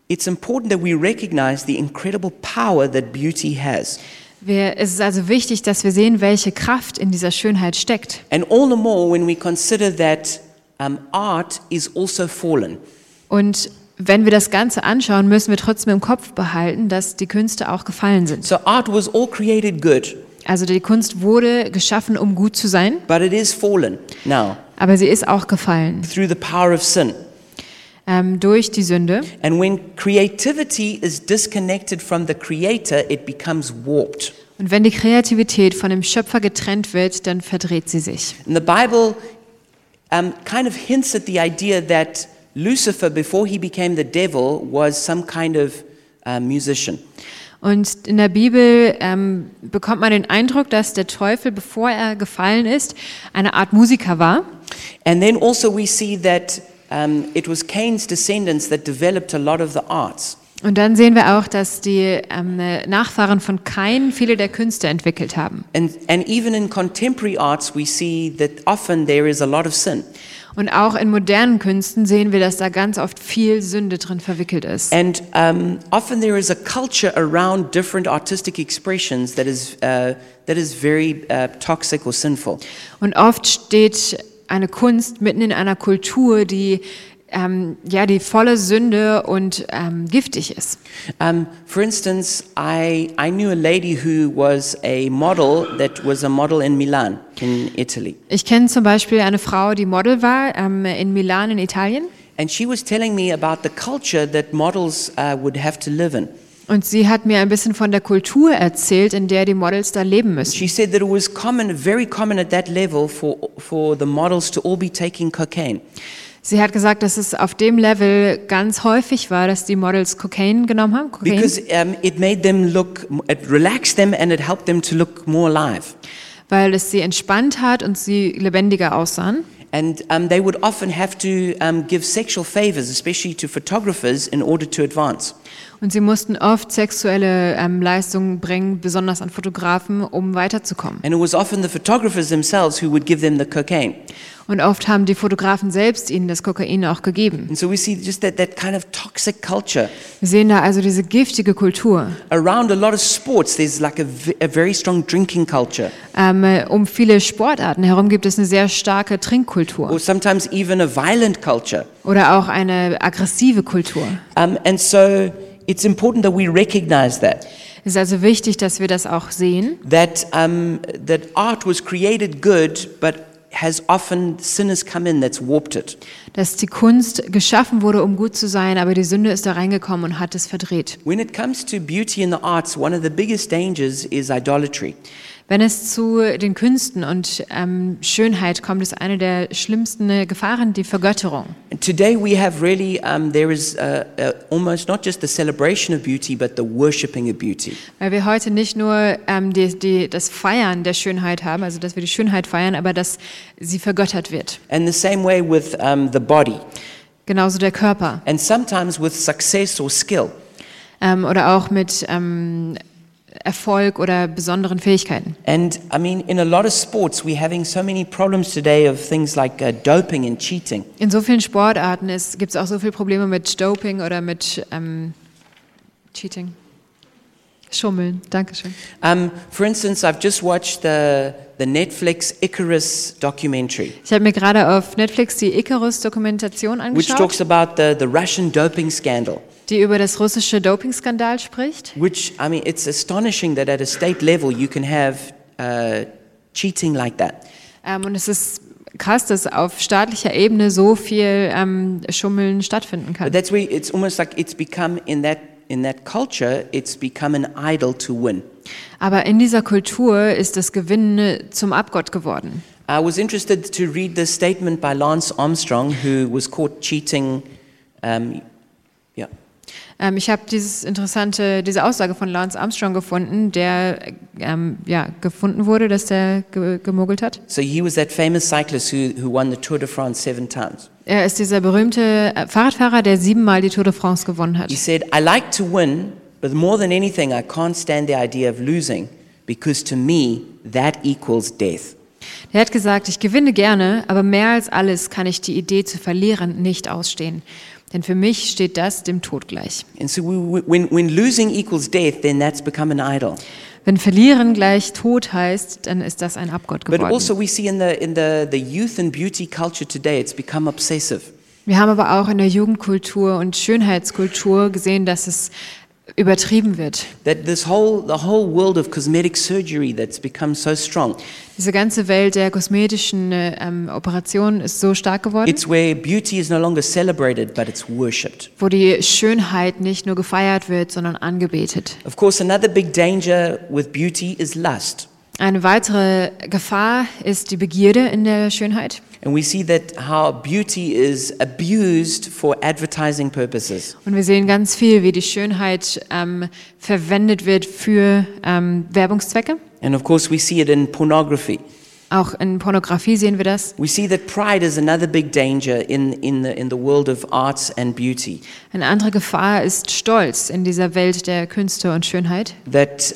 Speaker 1: it's important that we recognize the incredible power that beauty has.
Speaker 2: Es ist also wichtig, dass wir sehen, welche Kraft in dieser Schönheit steckt.
Speaker 1: And all the more when we consider that art is also fallen.
Speaker 2: Und wenn wir das Ganze anschauen, müssen wir trotzdem im Kopf behalten, dass die Künste auch gefallen sind.
Speaker 1: So art was all created good,
Speaker 2: Also die Kunst wurde geschaffen, um gut zu sein,
Speaker 1: but it is fallen now
Speaker 2: aber sie ist auch gefallen
Speaker 1: through the power of sin.
Speaker 2: Durch die Sünde.
Speaker 1: And when creativity is disconnected from the creator, it becomes warped.
Speaker 2: Und wenn die Kreativität von dem Schöpfer getrennt wird, dann verdreht sie sich.
Speaker 1: And the Bible kind of hints at the idea that Lucifer, before he became the devil, was some kind of musician.
Speaker 2: Und in der Bibel bekommt man den Eindruck, dass der Teufel, bevor er gefallen ist, eine Art Musiker war.
Speaker 1: And then also we see that it was Cain's descendants that developed a lot of the arts.
Speaker 2: Und dann sehen wir auch, dass die Nachfahren von Kain viele der Künste entwickelt haben.
Speaker 1: And even in contemporary arts we see that often there is a lot of sin.
Speaker 2: Und auch in modernen Künsten sehen wir, dass da ganz oft viel Sünde drin verwickelt ist.
Speaker 1: And often there is a culture around different artistic expressions that is very toxic or sinful.
Speaker 2: Und oft steht eine Kunst mitten in einer Kultur, die die volle Sünde und giftig ist.
Speaker 1: For instance, I knew a lady who was a model in Milan, in Italy.
Speaker 2: Ich kenne zum Beispiel eine Frau, die Model war in Milan in Italien.
Speaker 1: And she was telling me about the culture that models would have to live in.
Speaker 2: Und sie hat mir ein bisschen von der Kultur erzählt, in der die Models da leben müssen.
Speaker 1: She said that it was very common at that level for the models to all be taking cocaine.
Speaker 2: Sie hat gesagt, dass es auf dem Level ganz häufig war, dass die Models Kokain genommen haben. Kokain.
Speaker 1: Because it made them it relaxed them and it helped them to look more alive.
Speaker 2: Weil es sie entspannt hat und sie lebendiger aussahen.
Speaker 1: And they would often have to give sexual favors, especially to photographers, in order to advance.
Speaker 2: Und sie mussten oft sexuelle Leistungen bringen, besonders an Fotografen, um weiterzukommen.
Speaker 1: And it was often the photographers themselves who would give them the cocaine.
Speaker 2: Und oft haben die Fotografen selbst ihnen das Kokain auch gegeben.
Speaker 1: And so we see just that kind of toxic culture.
Speaker 2: Wir sehen da also diese giftige Kultur.
Speaker 1: Around a lot of sports, there's like a very strong drinking culture.
Speaker 2: Um viele Sportarten herum gibt es eine sehr starke Trinkkultur.
Speaker 1: Or sometimes even a violent culture.
Speaker 2: Oder auch eine aggressive Kultur.
Speaker 1: And so it's important that we recognize that.
Speaker 2: Es ist also wichtig, dass wir das auch sehen.
Speaker 1: That art was created good, but has often sin has come in that's warped it.
Speaker 2: Dass die Kunst geschaffen wurde, um gut zu sein, aber die Sünde ist da reingekommen und hat es verdreht.
Speaker 1: When it comes to beauty in the arts, one of the biggest dangers is idolatry.
Speaker 2: Wenn es zu den Künsten und Schönheit kommt, ist eine der schlimmsten Gefahren die Vergötterung.
Speaker 1: Today we have really, there is almost not just the celebration of beauty, but the worshipping of beauty.
Speaker 2: Weil wir heute nicht nur das Feiern der Schönheit haben, also dass wir die Schönheit feiern, aber dass sie vergöttert wird.
Speaker 1: And the same way with the body.
Speaker 2: Genauso der Körper.
Speaker 1: And sometimes with success or skill.
Speaker 2: Oder auch mit Erfolg oder besonderen Fähigkeiten.
Speaker 1: And I mean, in a lot of sports, we're having so many problems today of things like doping and cheating.
Speaker 2: In so vielen Sportarten gibt es auch so viele Probleme mit Doping oder mit Cheating. Schummeln. Dankeschön.
Speaker 1: For instance, I've just watched the Netflix Icarus documentary,
Speaker 2: Ich habe mir gerade auf Netflix die Icarus-Dokumentation
Speaker 1: which
Speaker 2: angeschaut,
Speaker 1: talks about the Russian doping scandal.
Speaker 2: die über das russische Dopingskandal spricht.
Speaker 1: Which, I mean, it's astonishing that at a state level you can have cheating like that.
Speaker 2: Und es ist krass, dass auf staatlicher Ebene so viel Schummeln stattfinden
Speaker 1: But
Speaker 2: kann.
Speaker 1: that's where it's almost like it's become in that culture, it's become an idol to win.
Speaker 2: Aber in dieser Kultur ist das Gewinnen zum Abgott geworden.
Speaker 1: I was interested to read the statement by Lance Armstrong, who was caught cheating.
Speaker 2: Ich habe diese Aussage von Lance Armstrong gefunden, der gefunden wurde, dass der gemogelt hat.
Speaker 1: So he was that famous cyclist who won the Tour de France 7 times.
Speaker 2: Er ist dieser berühmte Fahrradfahrer, der 7-mal die Tour de France gewonnen hat.
Speaker 1: He said, "I like to win, but more than anything, I can't stand the idea of losing, because to me, that equals death."
Speaker 2: Er hat gesagt, ich gewinne gerne, aber mehr als alles kann ich die Idee zu verlieren nicht ausstehen. Denn für mich steht das dem Tod gleich.
Speaker 1: And so when losing equals death, then that's become an idol.
Speaker 2: Wenn verlieren gleich Tod heißt, dann ist das ein Abgott
Speaker 1: But
Speaker 2: geworden.
Speaker 1: also we see in the youth and beauty culture today, it's become obsessive.
Speaker 2: Wir haben aber auch in der Jugendkultur und Schönheitskultur gesehen, dass es übertrieben wird.
Speaker 1: That the whole world of cosmetic surgery that's become so strong.
Speaker 2: Diese ganze Welt der kosmetischen Operationen ist so stark geworden,
Speaker 1: It's where beauty is no longer celebrated, but it's worshipped.
Speaker 2: wo die Schönheit nicht nur gefeiert wird, sondern angebetet.
Speaker 1: Of course, another big danger with beauty is lust.
Speaker 2: Eine weitere Gefahr ist die Begierde in der Schönheit.
Speaker 1: And we see that how beauty is abused for advertising purposes.
Speaker 2: Und wir sehen ganz viel, wie die Schönheit verwendet wird für Werbungszwecke.
Speaker 1: And of course, we see it in pornography.
Speaker 2: Auch in Pornografie sehen wir das.
Speaker 1: We see that pride is another big danger in the world of arts and beauty.
Speaker 2: Eine andere Gefahr ist Stolz in dieser Welt der Künste und Schönheit.
Speaker 1: That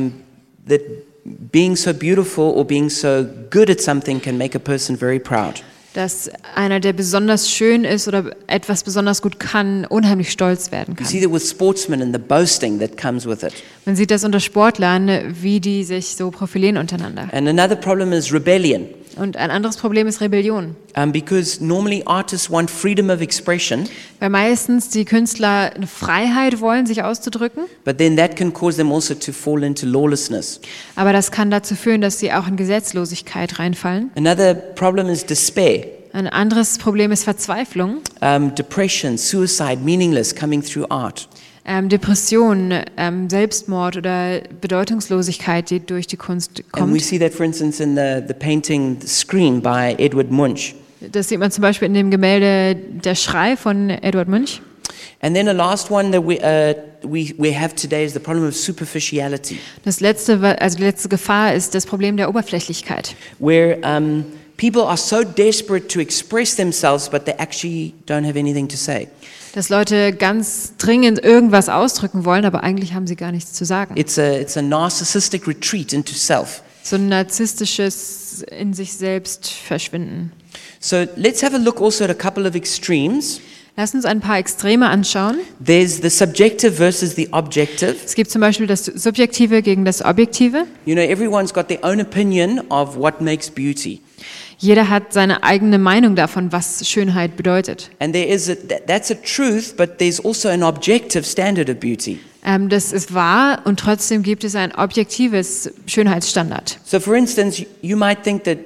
Speaker 1: being so beautiful or being so good at something can make a person very proud.
Speaker 2: Dass einer, der besonders schön ist oder etwas besonders gut kann, unheimlich stolz werden
Speaker 1: You see
Speaker 2: kann.
Speaker 1: that with sportsmen and the boasting that comes with it.
Speaker 2: Man sieht das unter Sportlern, wie die sich so profilieren untereinander.
Speaker 1: And another problem is rebellion.
Speaker 2: Und ein anderes Problem ist Rebellion.
Speaker 1: Because normally artists want freedom of expression,
Speaker 2: Weil meistens die Künstler eine Freiheit wollen, sich auszudrücken.
Speaker 1: but then that can cause them also to fall into lawlessness.
Speaker 2: Aber das kann dazu führen, dass sie auch in Gesetzlosigkeit reinfallen.
Speaker 1: Another problem is despair,
Speaker 2: Ein anderes Problem ist Verzweiflung,
Speaker 1: depression, suicide, meaningless coming through art.
Speaker 2: Depression, Selbstmord oder Bedeutungslosigkeit, die durch die Kunst
Speaker 1: And we
Speaker 2: kommt.
Speaker 1: see that, for instance, in the painting Scream by Edward Munch.
Speaker 2: Das sieht man zum Beispiel in dem Gemälde Der Schrei von Eduard Munch.
Speaker 1: And then the last one that we have today is the problem of superficiality,
Speaker 2: Das letzte, also die letzte Gefahr ist das Problem der Oberflächlichkeit,
Speaker 1: where people are so desperate to express themselves, but they actually don't have anything to say.
Speaker 2: dass Leute ganz dringend irgendwas ausdrücken wollen, aber eigentlich haben sie gar nichts zu sagen.
Speaker 1: It's a narcissistic retreat into self.
Speaker 2: So ein narzisstisches in sich selbst verschwinden.
Speaker 1: So let's have a look also at a couple of extremes.
Speaker 2: Lass uns ein paar Extreme anschauen.
Speaker 1: There's the subjective versus the objective.
Speaker 2: Es gibt zum Beispiel das Subjektive gegen das Objektive.
Speaker 1: You know, everyone's got their own opinion of what makes beauty.
Speaker 2: Jeder hat seine eigene Meinung davon, was Schönheit bedeutet.
Speaker 1: And that's a truth, but there's also an objective standard of beauty.
Speaker 2: Das ist wahr und trotzdem gibt es ein objektives Schönheitsstandard.
Speaker 1: So for instance, you might think that,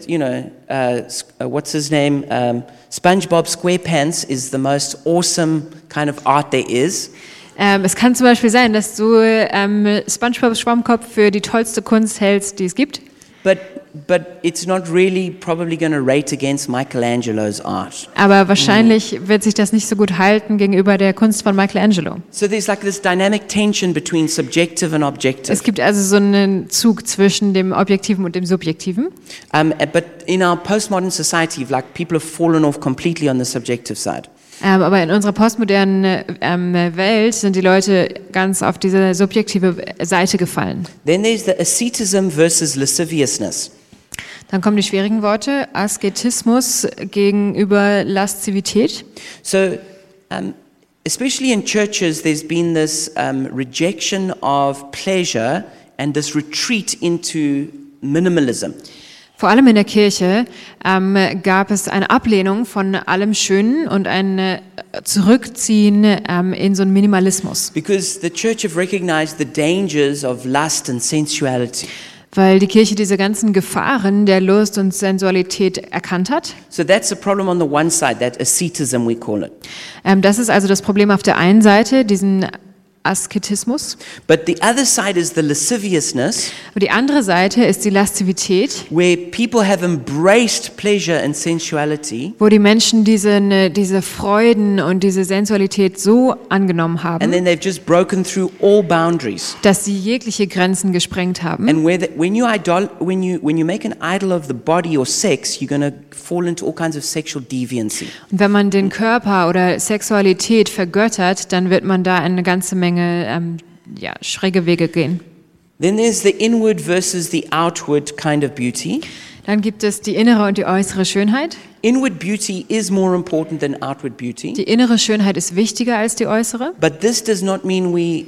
Speaker 1: what's his name? SpongeBob SquarePants is the most awesome kind of art there is.
Speaker 2: Es kann zum Beispiel sein, dass du SpongeBob Schwammkopf für die tollste Kunst hältst, die es gibt.
Speaker 1: But it's not really probably going to rate against Michelangelo's art.
Speaker 2: Aber wahrscheinlich wird sich das nicht so gut halten gegenüber der Kunst von Michelangelo.
Speaker 1: So there's like this dynamic tension between subjective and objective.
Speaker 2: Es gibt also so einen Zug zwischen dem Objektiven und dem Subjektiven.
Speaker 1: But in our postmodern society, like people have fallen off completely on the subjective side.
Speaker 2: Aber in unserer postmodernen Welt sind die Leute ganz auf diese subjektive Seite gefallen.
Speaker 1: Then there's the asceticism versus lasciviousness.
Speaker 2: Dann kommen die schwierigen Worte, Asketismus gegenüber Laszivität.
Speaker 1: So, especially in churches, there's been this rejection of pleasure and this retreat into minimalism.
Speaker 2: Vor allem in der Kirche gab es eine Ablehnung von allem Schönen und ein Zurückziehen in so einen Minimalismus.
Speaker 1: Because the church have recognized the dangers of lust and sensuality.
Speaker 2: Weil die Kirche diese ganzen Gefahren der Lust und Sensualität erkannt hat.
Speaker 1: So that's a problem on the one side, that asceticism we call it.
Speaker 2: Das ist also das Problem auf der einen Seite, diesen Asketismus.
Speaker 1: But the other side is the lasciviousness,
Speaker 2: Aber die andere Seite ist die Laszivität,
Speaker 1: where people have embraced pleasure and sensuality,
Speaker 2: wo die Menschen diese Freuden und diese Sensualität so angenommen
Speaker 1: and
Speaker 2: haben,
Speaker 1: then they've just broken through all boundaries.
Speaker 2: dass sie jegliche Grenzen gesprengt haben.
Speaker 1: And when you make an idol of the body or sex, you're going to fall into all kinds of sexual deviancy.
Speaker 2: Und wenn man den Körper oder Sexualität vergöttert, dann wird man da eine ganze Menge schräge Wege gehen.
Speaker 1: Then there's the inward versus the outward kind of beauty.
Speaker 2: Dann gibt es die innere und die äußere Schönheit.
Speaker 1: Inward beauty is more important than outward beauty.
Speaker 2: Die innere Schönheit ist wichtiger als die äußere.
Speaker 1: But this does not mean we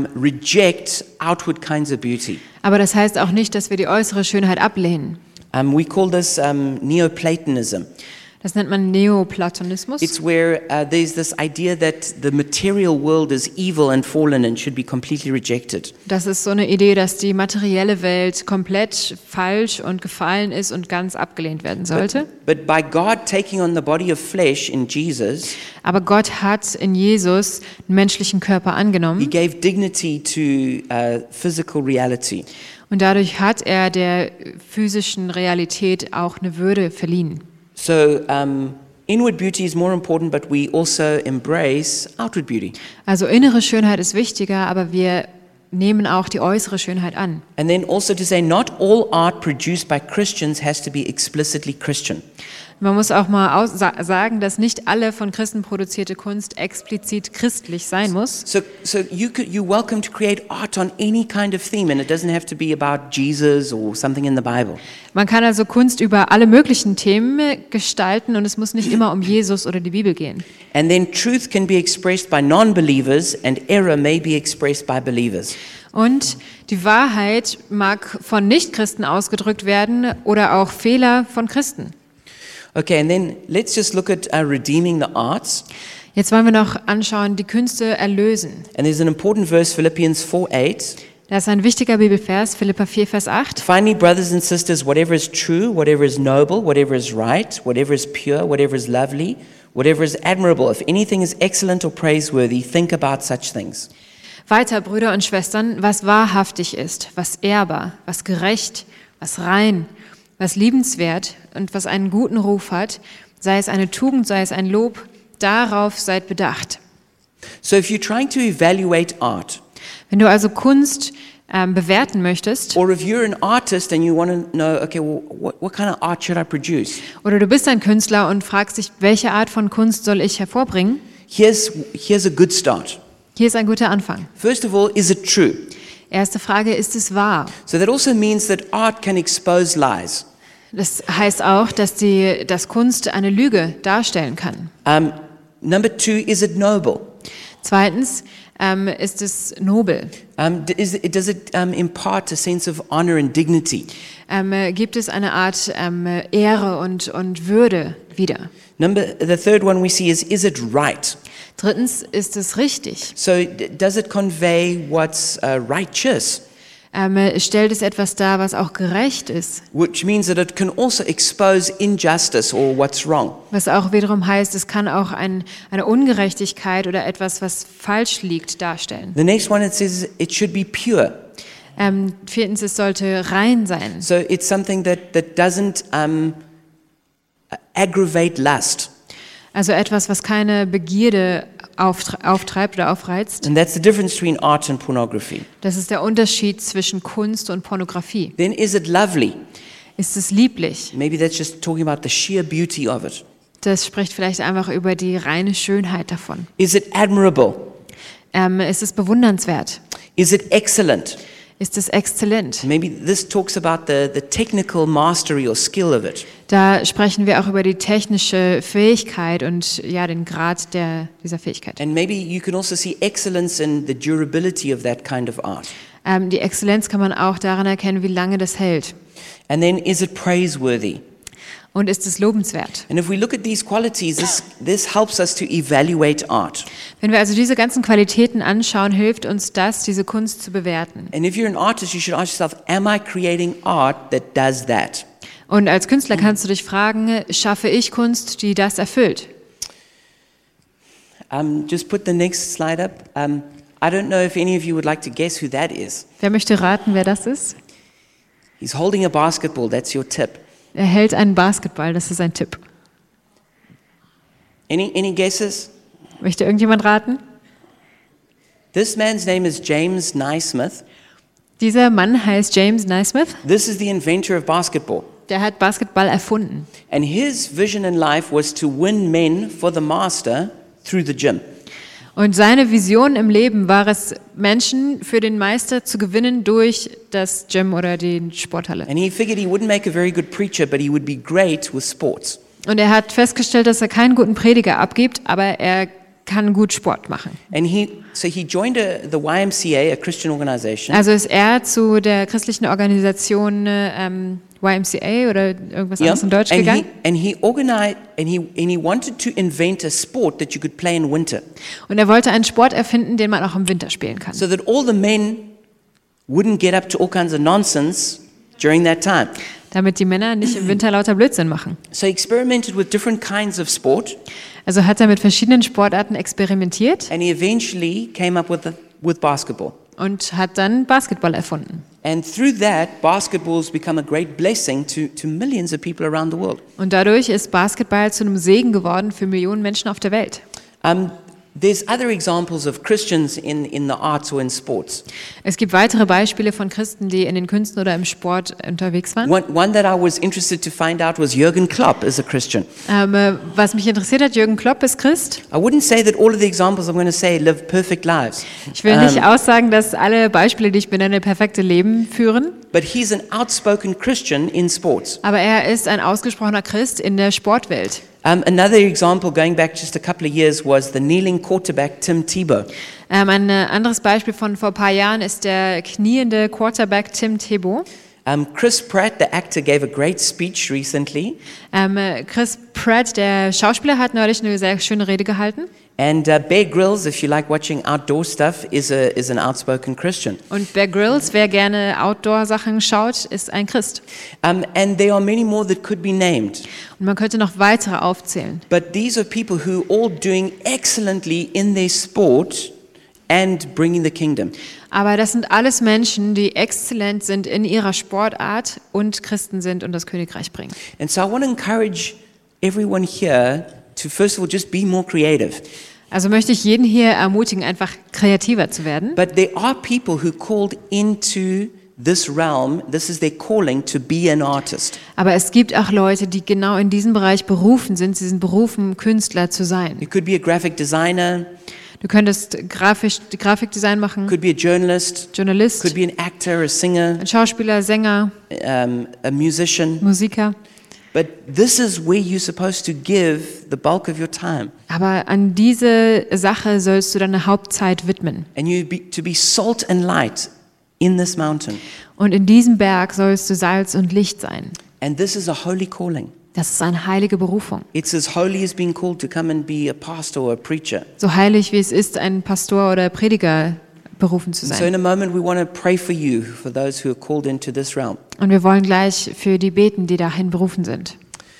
Speaker 1: reject outward kinds of beauty.
Speaker 2: Aber das heißt auch nicht, dass wir die äußere Schönheit ablehnen.
Speaker 1: We call this Neoplatonism.
Speaker 2: Das nennt man Neoplatonismus.
Speaker 1: It's where there's this idea that the material world is evil and fallen and should be completely rejected.
Speaker 2: Das ist so eine Idee, dass die materielle Welt komplett falsch und gefallen ist und ganz abgelehnt werden sollte.
Speaker 1: But by God taking on the body of flesh in Jesus,
Speaker 2: Aber Gott hat in Jesus einen menschlichen Körper
Speaker 1: He
Speaker 2: angenommen
Speaker 1: gave dignity to physical reality.
Speaker 2: und dadurch hat er der physischen Realität auch eine Würde verliehen.
Speaker 1: So inward beauty is more important, but we also embrace outward beauty.
Speaker 2: Also innere Schönheit ist wichtiger, aber wir nehmen auch die äußere Schönheit an.
Speaker 1: And then also to say not all art produced by Christians has to be explicitly Christian.
Speaker 2: Man muss auch mal sagen, dass nicht alle von Christen produzierte Kunst explizit christlich sein muss.
Speaker 1: So you're welcome to create art on any kind of theme, and it doesn't have to be about Jesus or something in the Bible.
Speaker 2: Man kann also Kunst über alle möglichen Themen gestalten und es muss nicht immer um Jesus oder die Bibel gehen.
Speaker 1: And then truth can be expressed by non-believers, and error may be expressed by believers.
Speaker 2: Und die Wahrheit mag von Nichtchristen ausgedrückt werden oder auch Fehler von Christen.
Speaker 1: Okay, and then let's just look at redeeming the arts.
Speaker 2: Jetzt wollen wir noch anschauen, die Künste erlösen.
Speaker 1: And there's an important verse, Philippians 4:8.
Speaker 2: Das ist ein wichtiger Bibelvers, Philipper 4, Vers 8.
Speaker 1: Finally, brothers and sisters, whatever is true, whatever is noble, whatever is right, whatever is pure, whatever is lovely, whatever is admirable, if anything is excellent or praiseworthy, think about such things.
Speaker 2: Weiter, Brüder und Schwestern, was wahrhaftig ist, was ehrbar, was gerecht, was rein, was liebenswert und was einen guten Ruf hat, sei es eine Tugend, sei es ein Lob, darauf seid bedacht.
Speaker 1: So if you're trying to evaluate art,
Speaker 2: Wenn du also Kunst bewerten möchtest,
Speaker 1: or if you're an artist and you want to know, okay, well, what kind of art should I produce?
Speaker 2: oder du bist ein Künstler und fragst dich, welche Art von Kunst soll ich hervorbringen?
Speaker 1: Here's a good start.
Speaker 2: Hier ist ein guter Anfang.
Speaker 1: First of all, is it true?
Speaker 2: Erste Frage, ist es wahr?
Speaker 1: So that also means that art can expose lies.
Speaker 2: Das heißt auch, dass Kunst eine Lüge darstellen kann.
Speaker 1: Number two, is it noble?
Speaker 2: Zweitens, ist es nobel?
Speaker 1: Does it impart a sense of honor and dignity?
Speaker 2: Gibt es eine Art Ehre und Würde wieder?
Speaker 1: The third one we see is it right?
Speaker 2: Drittens, ist es richtig?
Speaker 1: So does it convey what's righteous?
Speaker 2: Stellt es etwas dar, was auch gerecht ist?
Speaker 1: Which means that it can also expose injustice or what's wrong.
Speaker 2: Was auch wiederum heißt, es kann auch eine Ungerechtigkeit oder etwas, was falsch liegt, darstellen.
Speaker 1: The next one, it says it should be pure.
Speaker 2: Viertens, es sollte rein sein.
Speaker 1: So it's something that doesn't aggravate lust.
Speaker 2: Also etwas, was keine Begierde auftreibt oder aufreizt.
Speaker 1: And that's the difference between art and pornography.
Speaker 2: Das ist der Unterschied zwischen Kunst und Pornografie.
Speaker 1: Then is it lovely?
Speaker 2: Ist es lieblich?
Speaker 1: Maybe that's just talking about the sheer beauty of it.
Speaker 2: Das spricht vielleicht einfach über die reine Schönheit davon.
Speaker 1: Is it admirable?
Speaker 2: Ist es bewundernswert?
Speaker 1: Is it excellent?
Speaker 2: Ist es exzellent?
Speaker 1: Maybe this talks about the technical mastery or skill of it.
Speaker 2: Da sprechen wir auch über die technische Fähigkeit und ja, den Grad dieser Fähigkeit.
Speaker 1: And maybe you can also see excellence in the durability of that kind of art.
Speaker 2: Die Exzellenz kann man auch daran erkennen, wie lange das hält.
Speaker 1: And then is it praiseworthy?
Speaker 2: Und ist es lobenswert?
Speaker 1: And if we look at these qualities, this helps us to evaluate art.
Speaker 2: Wenn wir also diese ganzen Qualitäten anschauen, hilft uns das, diese Kunst zu bewerten.
Speaker 1: And if you're an artist, you should ask yourself, am I creating art that does that?
Speaker 2: Und als Künstler kannst du dich fragen, schaffe ich Kunst, die das erfüllt?
Speaker 1: Just put the next slide up. I don't know if any of you would like to guess who that is.
Speaker 2: Wer möchte raten, wer das ist?
Speaker 1: He's holding a basketball. That's your tip.
Speaker 2: Er hält einen Basketball, das ist ein Tipp.
Speaker 1: Any guesses?
Speaker 2: Möchte irgendjemand raten?
Speaker 1: This man's name is James Naismith.
Speaker 2: Dieser Mann heißt James Naismith.
Speaker 1: This is the inventor of basketball.
Speaker 2: Der hat Basketball erfunden.
Speaker 1: And his vision in life was to win men for the master through the gym.
Speaker 2: Und seine Vision im Leben war es, Menschen für den Meister zu gewinnen durch das Gym oder die Sporthalle.
Speaker 1: And he figured he wouldn't make a very good preacher, but he would be great with sports.
Speaker 2: Und er hat festgestellt, dass er keinen guten Prediger abgibt, aber er kann gut Sport machen.
Speaker 1: And he joined the YMCA, a Christian organization.
Speaker 2: Also ist er zu der christlichen Organisation YMCA oder irgendwas anderes in Deutsch gegangen.
Speaker 1: And he organized and he wanted to invent a sport that you could play in winter,
Speaker 2: Und er wollte einen Sport erfinden, den man auch im Winter spielen kann.
Speaker 1: so that all the men wouldn't get up to all kinds of nonsense during that time.
Speaker 2: Damit die Männer nicht im Winter lauter Blödsinn machen.
Speaker 1: So he experimented with different kinds of sport,
Speaker 2: Also hat er mit verschiedenen Sportarten experimentiert
Speaker 1: and he eventually came up with basketball.
Speaker 2: und hat dann Basketball erfunden.
Speaker 1: And through that, basketball's become a great blessing to millions of people around the world.
Speaker 2: Und dadurch ist Basketball zu einem Segen geworden für Millionen Menschen auf der Welt.
Speaker 1: There's other examples of Christians in the arts or in sports.
Speaker 2: Es gibt weitere Beispiele von Christen, die in den Künsten oder im Sport unterwegs waren.
Speaker 1: One that I was interested to find out was Jürgen Klopp is a Christian.
Speaker 2: Was mich interessiert hat, Jürgen Klopp ist Christ.
Speaker 1: I wouldn't say that all of the examples I'm going to say live perfect lives.
Speaker 2: Ich will nicht aussagen, dass alle Beispiele, die ich benenne, perfekte Leben führen.
Speaker 1: But he's an outspoken Christian in sports.
Speaker 2: Aber er ist ein ausgesprochener Christ in der Sportwelt.
Speaker 1: Another example, going back just a couple of years, was the kneeling quarterback Tim Tebow.
Speaker 2: Ein anderes Beispiel von vor ein paar Jahren ist der kniende Quarterback Tim Tebow.
Speaker 1: Chris Pratt, the actor, gave a great speech recently.
Speaker 2: Chris Pratt, der Schauspieler, hat neulich eine sehr schöne Rede gehalten.
Speaker 1: And Bear Grylls, if you like watching outdoor stuff, is an outspoken Christian.
Speaker 2: Und Bear Grylls, wer gerne Outdoor-Sachen schaut, ist ein Christ.
Speaker 1: And there are many more that could be named.
Speaker 2: Und man könnte noch weitere aufzählen.
Speaker 1: But these are people who are all doing excellently in their sport and bringing the kingdom.
Speaker 2: Aber das sind alles Menschen, die exzellent sind in ihrer Sportart und Christen sind und das Königreich bringen.
Speaker 1: And so I want to encourage everyone here to first of all just be more creative.
Speaker 2: Also möchte ich jeden hier ermutigen, einfach kreativer zu werden.
Speaker 1: But there are people who called into this realm, this is their calling to be an artist.
Speaker 2: Aber es gibt auch Leute, die genau in diesem Bereich berufen sind. Sie sind berufen, Künstler zu sein.
Speaker 1: You could be a graphic designer,
Speaker 2: Du könntest Grafikdesign machen,
Speaker 1: could be a journalist,
Speaker 2: Journalist,
Speaker 1: could be an actor, a singer,
Speaker 2: ein Schauspieler, Sänger,
Speaker 1: a musician.
Speaker 2: Musiker.
Speaker 1: But this is where you're supposed to give the bulk of your time.
Speaker 2: Aber an diese Sache sollst du deine Hauptzeit widmen.
Speaker 1: And to be salt and light in this mountain.
Speaker 2: Und in diesem Berg sollst du Salz und Licht sein.
Speaker 1: And this is a holy calling.
Speaker 2: Das ist eine heilige Berufung.
Speaker 1: It's as holy as being called to come and be a pastor or a preacher.
Speaker 2: So heilig wie es ist, ein Pastor oder Prediger berufen zu
Speaker 1: So in
Speaker 2: sein.
Speaker 1: a moment we want to pray for you, for those who are called into this realm.
Speaker 2: Und wir wollen gleich für die beten, die dahin berufen sind.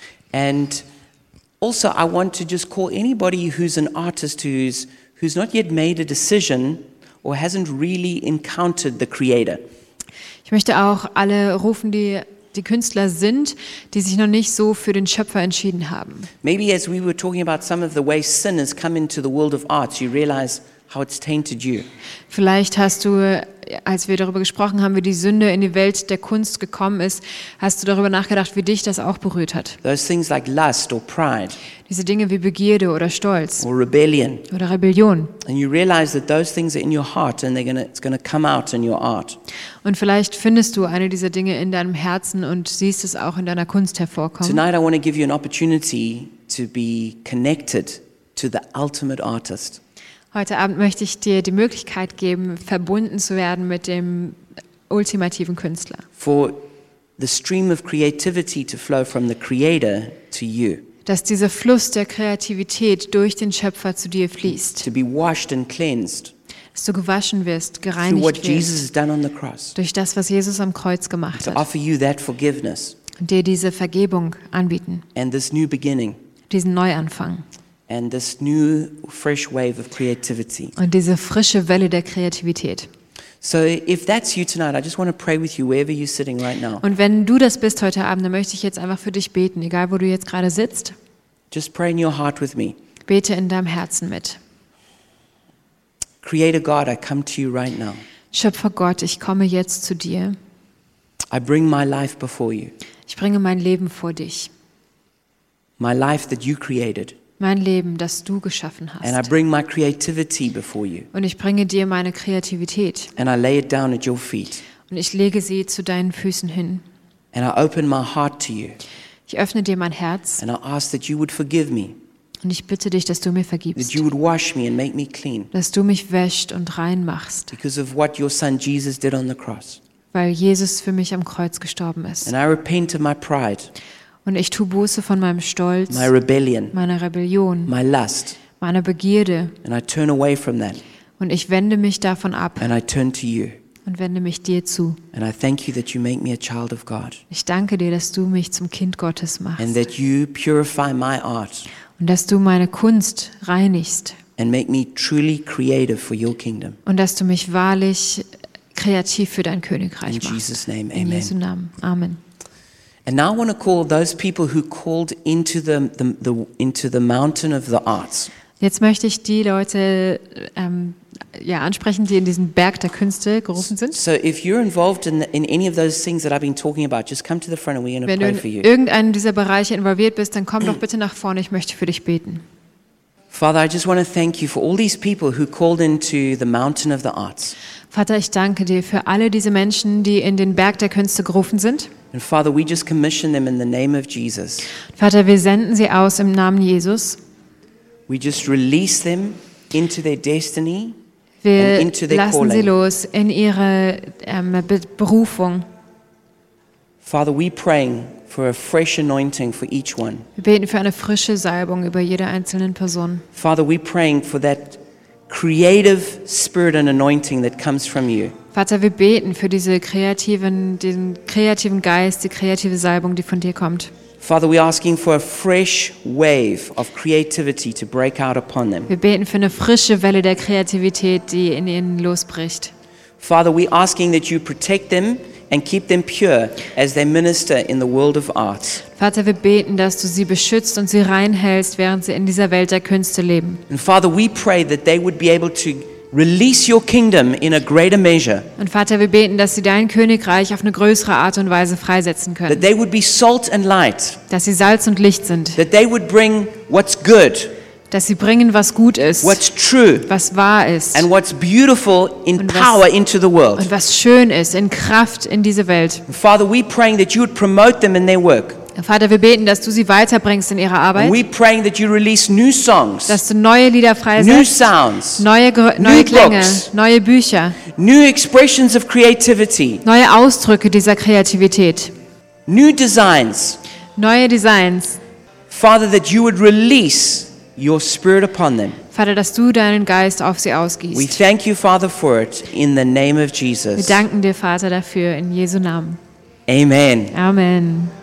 Speaker 1: And also I want to just call anybody who's an artist who's not yet made a decision or hasn't really encountered the Creator.
Speaker 2: Ich möchte auch alle rufen, die Künstler sind, die sich noch nicht so für den Schöpfer entschieden haben.
Speaker 1: Maybe as we were talking about some of the ways sin has come into the world of arts, you realize how it's tainted you.
Speaker 2: Vielleicht hast du, als wir darüber gesprochen haben, wie die Sünde in die Welt der Kunst gekommen ist, hast du darüber nachgedacht, wie dich das auch berührt hat.
Speaker 1: Those things like lust or pride
Speaker 2: Diese Dinge wie Begierde oder Stolz
Speaker 1: or rebellion.
Speaker 2: oder Rebellion.
Speaker 1: And you realize that those things are in your heart and it's going to come out in your art.
Speaker 2: Und vielleicht findest du eine dieser Dinge in deinem Herzen und siehst es auch in deiner Kunst hervorkommen.
Speaker 1: Tonight I want to give you an opportunity to be connected to the ultimate artist.
Speaker 2: Heute Abend möchte ich dir die Möglichkeit geben, verbunden zu werden mit dem ultimativen Künstler.
Speaker 1: For the stream of creativity to flow from the Creator to you.
Speaker 2: Dass dieser Fluss der Kreativität durch den Schöpfer zu dir fließt.
Speaker 1: To be washed and cleansed
Speaker 2: Dass du gewaschen wirst,
Speaker 1: through what
Speaker 2: gereinigt
Speaker 1: Jesus
Speaker 2: wirst
Speaker 1: has done on the cross.
Speaker 2: durch das, was Jesus am Kreuz gemacht
Speaker 1: To
Speaker 2: hat.
Speaker 1: offer you that forgiveness
Speaker 2: Und dir diese Vergebung anbieten,
Speaker 1: and this new beginning
Speaker 2: diesen Neuanfang
Speaker 1: and this new fresh wave of creativity.
Speaker 2: und diese frische Welle der Kreativität.
Speaker 1: So if that's you tonight, I just want to pray with you wherever you're sitting right now.
Speaker 2: Und wenn du das bist heute Abend, dann möchte ich jetzt einfach für dich beten, egal wo du jetzt gerade sitzt.
Speaker 1: Just pray in your heart with me.
Speaker 2: Bete in deinem Herzen mit.
Speaker 1: Creator God, I come to you right now.
Speaker 2: Schöpfer Gott, ich komme jetzt zu dir.
Speaker 1: I bring my life before you.
Speaker 2: Ich bringe mein Leben vor dich.
Speaker 1: My life that you created.
Speaker 2: mein Leben, das du geschaffen
Speaker 1: And I
Speaker 2: hast.
Speaker 1: bring my creativity before you.
Speaker 2: Und ich bringe dir meine Kreativität
Speaker 1: And I lay it down at your feet.
Speaker 2: und ich lege sie zu deinen Füßen hin.
Speaker 1: And I open my heart to you.
Speaker 2: Ich öffne dir mein Herz
Speaker 1: And I ask that you would forgive me,
Speaker 2: und ich bitte dich, dass du mir
Speaker 1: that
Speaker 2: vergibst,
Speaker 1: you would wash me and make me clean
Speaker 2: dass du mich wäscht und rein machst,
Speaker 1: because of what your son Jesus did on the cross.
Speaker 2: weil Jesus für mich am Kreuz gestorben ist.
Speaker 1: And I repent of my pride,
Speaker 2: Und ich tue Buße von meinem Stolz,
Speaker 1: my rebellion,
Speaker 2: meiner Rebellion,
Speaker 1: my lust,
Speaker 2: meiner Begierde
Speaker 1: and I turn away from that
Speaker 2: und ich wende mich davon ab
Speaker 1: and I turn to you.
Speaker 2: und wende mich dir zu.
Speaker 1: And I thank you that you make me a child of God
Speaker 2: Ich danke dir, dass du mich zum Kind Gottes
Speaker 1: and
Speaker 2: machst
Speaker 1: that you purify my art
Speaker 2: und dass du meine Kunst reinigst
Speaker 1: and make me truly creative for your kingdom.
Speaker 2: und dass du mich wahrlich kreativ für dein Königreich
Speaker 1: In
Speaker 2: machst.
Speaker 1: Jesus' name,
Speaker 2: In Jesu
Speaker 1: amen.
Speaker 2: Namen. Amen.
Speaker 1: And now I want to call those people who called into the mountain of the arts.
Speaker 2: Jetzt möchte ich die Leute ansprechen, die in diesen Berg der Künste gerufen sind.
Speaker 1: So if you're involved in any of those things that I've been talking about, just come to the front and we're going to
Speaker 2: Wenn du
Speaker 1: pray
Speaker 2: in
Speaker 1: for you.
Speaker 2: irgendeinem dieser Bereiche involviert bist, dann komm doch bitte nach vorne, ich möchte für dich beten.
Speaker 1: Father, I just want to thank you for all these people who called into the mountain of the arts.
Speaker 2: Vater, ich danke dir für alle diese Menschen, die in den Berg der Künste gerufen sind.
Speaker 1: And Father, we just commission them in the name of Jesus.
Speaker 2: Vater, wir senden sie aus im Namen Jesus.
Speaker 1: We just release them into their destiny and
Speaker 2: Wir
Speaker 1: into their
Speaker 2: lassen sie
Speaker 1: calling.
Speaker 2: los in ihre Berufung.
Speaker 1: Father, we're praying for a fresh anointing for each one.
Speaker 2: Wir beten für eine frische Salbung über jede einzelne Person.
Speaker 1: Father, we're praying for that creative spirit and anointing that comes from you.
Speaker 2: Vater, wir beten für diesen kreativen Geist, die kreative Salbung, die von dir kommt.
Speaker 1: Father, we're asking for a fresh wave of creativity to break out upon them.
Speaker 2: Wir beten für eine frische Welle der Kreativität, die in ihnen losbricht.
Speaker 1: Father, we're asking that you protect them and keep them pure as they minister in the world of arts.
Speaker 2: Vater, wir beten, dass du sie beschützt und sie reinhältst, während sie in dieser Welt der Künste leben.
Speaker 1: And Father, we pray that they would be able to release your kingdom in a greater measure,
Speaker 2: Und Vater, wir beten, dass sie dein Königreich auf eine größere Art und Weise freisetzen
Speaker 1: that
Speaker 2: können.
Speaker 1: they would be salt and light,
Speaker 2: Dass sie Salz und Licht sind.
Speaker 1: that they would bring what's good,
Speaker 2: Dass sie bringen, was gut ist,
Speaker 1: what's true,
Speaker 2: was wahr ist
Speaker 1: and what's beautiful in
Speaker 2: Und was-
Speaker 1: power into the world.
Speaker 2: und was schön ist, in Kraft in diese Welt.
Speaker 1: And Father, we're praying that you would promote them in their work.
Speaker 2: Vater, wir beten, dass du sie weiterbringst in ihrer
Speaker 1: And
Speaker 2: Arbeit,
Speaker 1: we're praying that you release new songs,
Speaker 2: dass du neue Lieder
Speaker 1: new
Speaker 2: freisetzt,
Speaker 1: sounds,
Speaker 2: neue
Speaker 1: new
Speaker 2: Klänge,
Speaker 1: books.
Speaker 2: neue Bücher,
Speaker 1: new expressions of creativity,
Speaker 2: neue Ausdrücke dieser Kreativität,
Speaker 1: new designs.
Speaker 2: neue Designs.
Speaker 1: Father, that you would release your spirit upon them.
Speaker 2: Vater, dass du deinen Geist auf sie
Speaker 1: We
Speaker 2: ausgießt.
Speaker 1: thank you, Father, for it in the name of
Speaker 2: Wir
Speaker 1: Jesus.
Speaker 2: danken dir, Vater, dafür in Jesu Namen.
Speaker 1: Amen.
Speaker 2: Amen.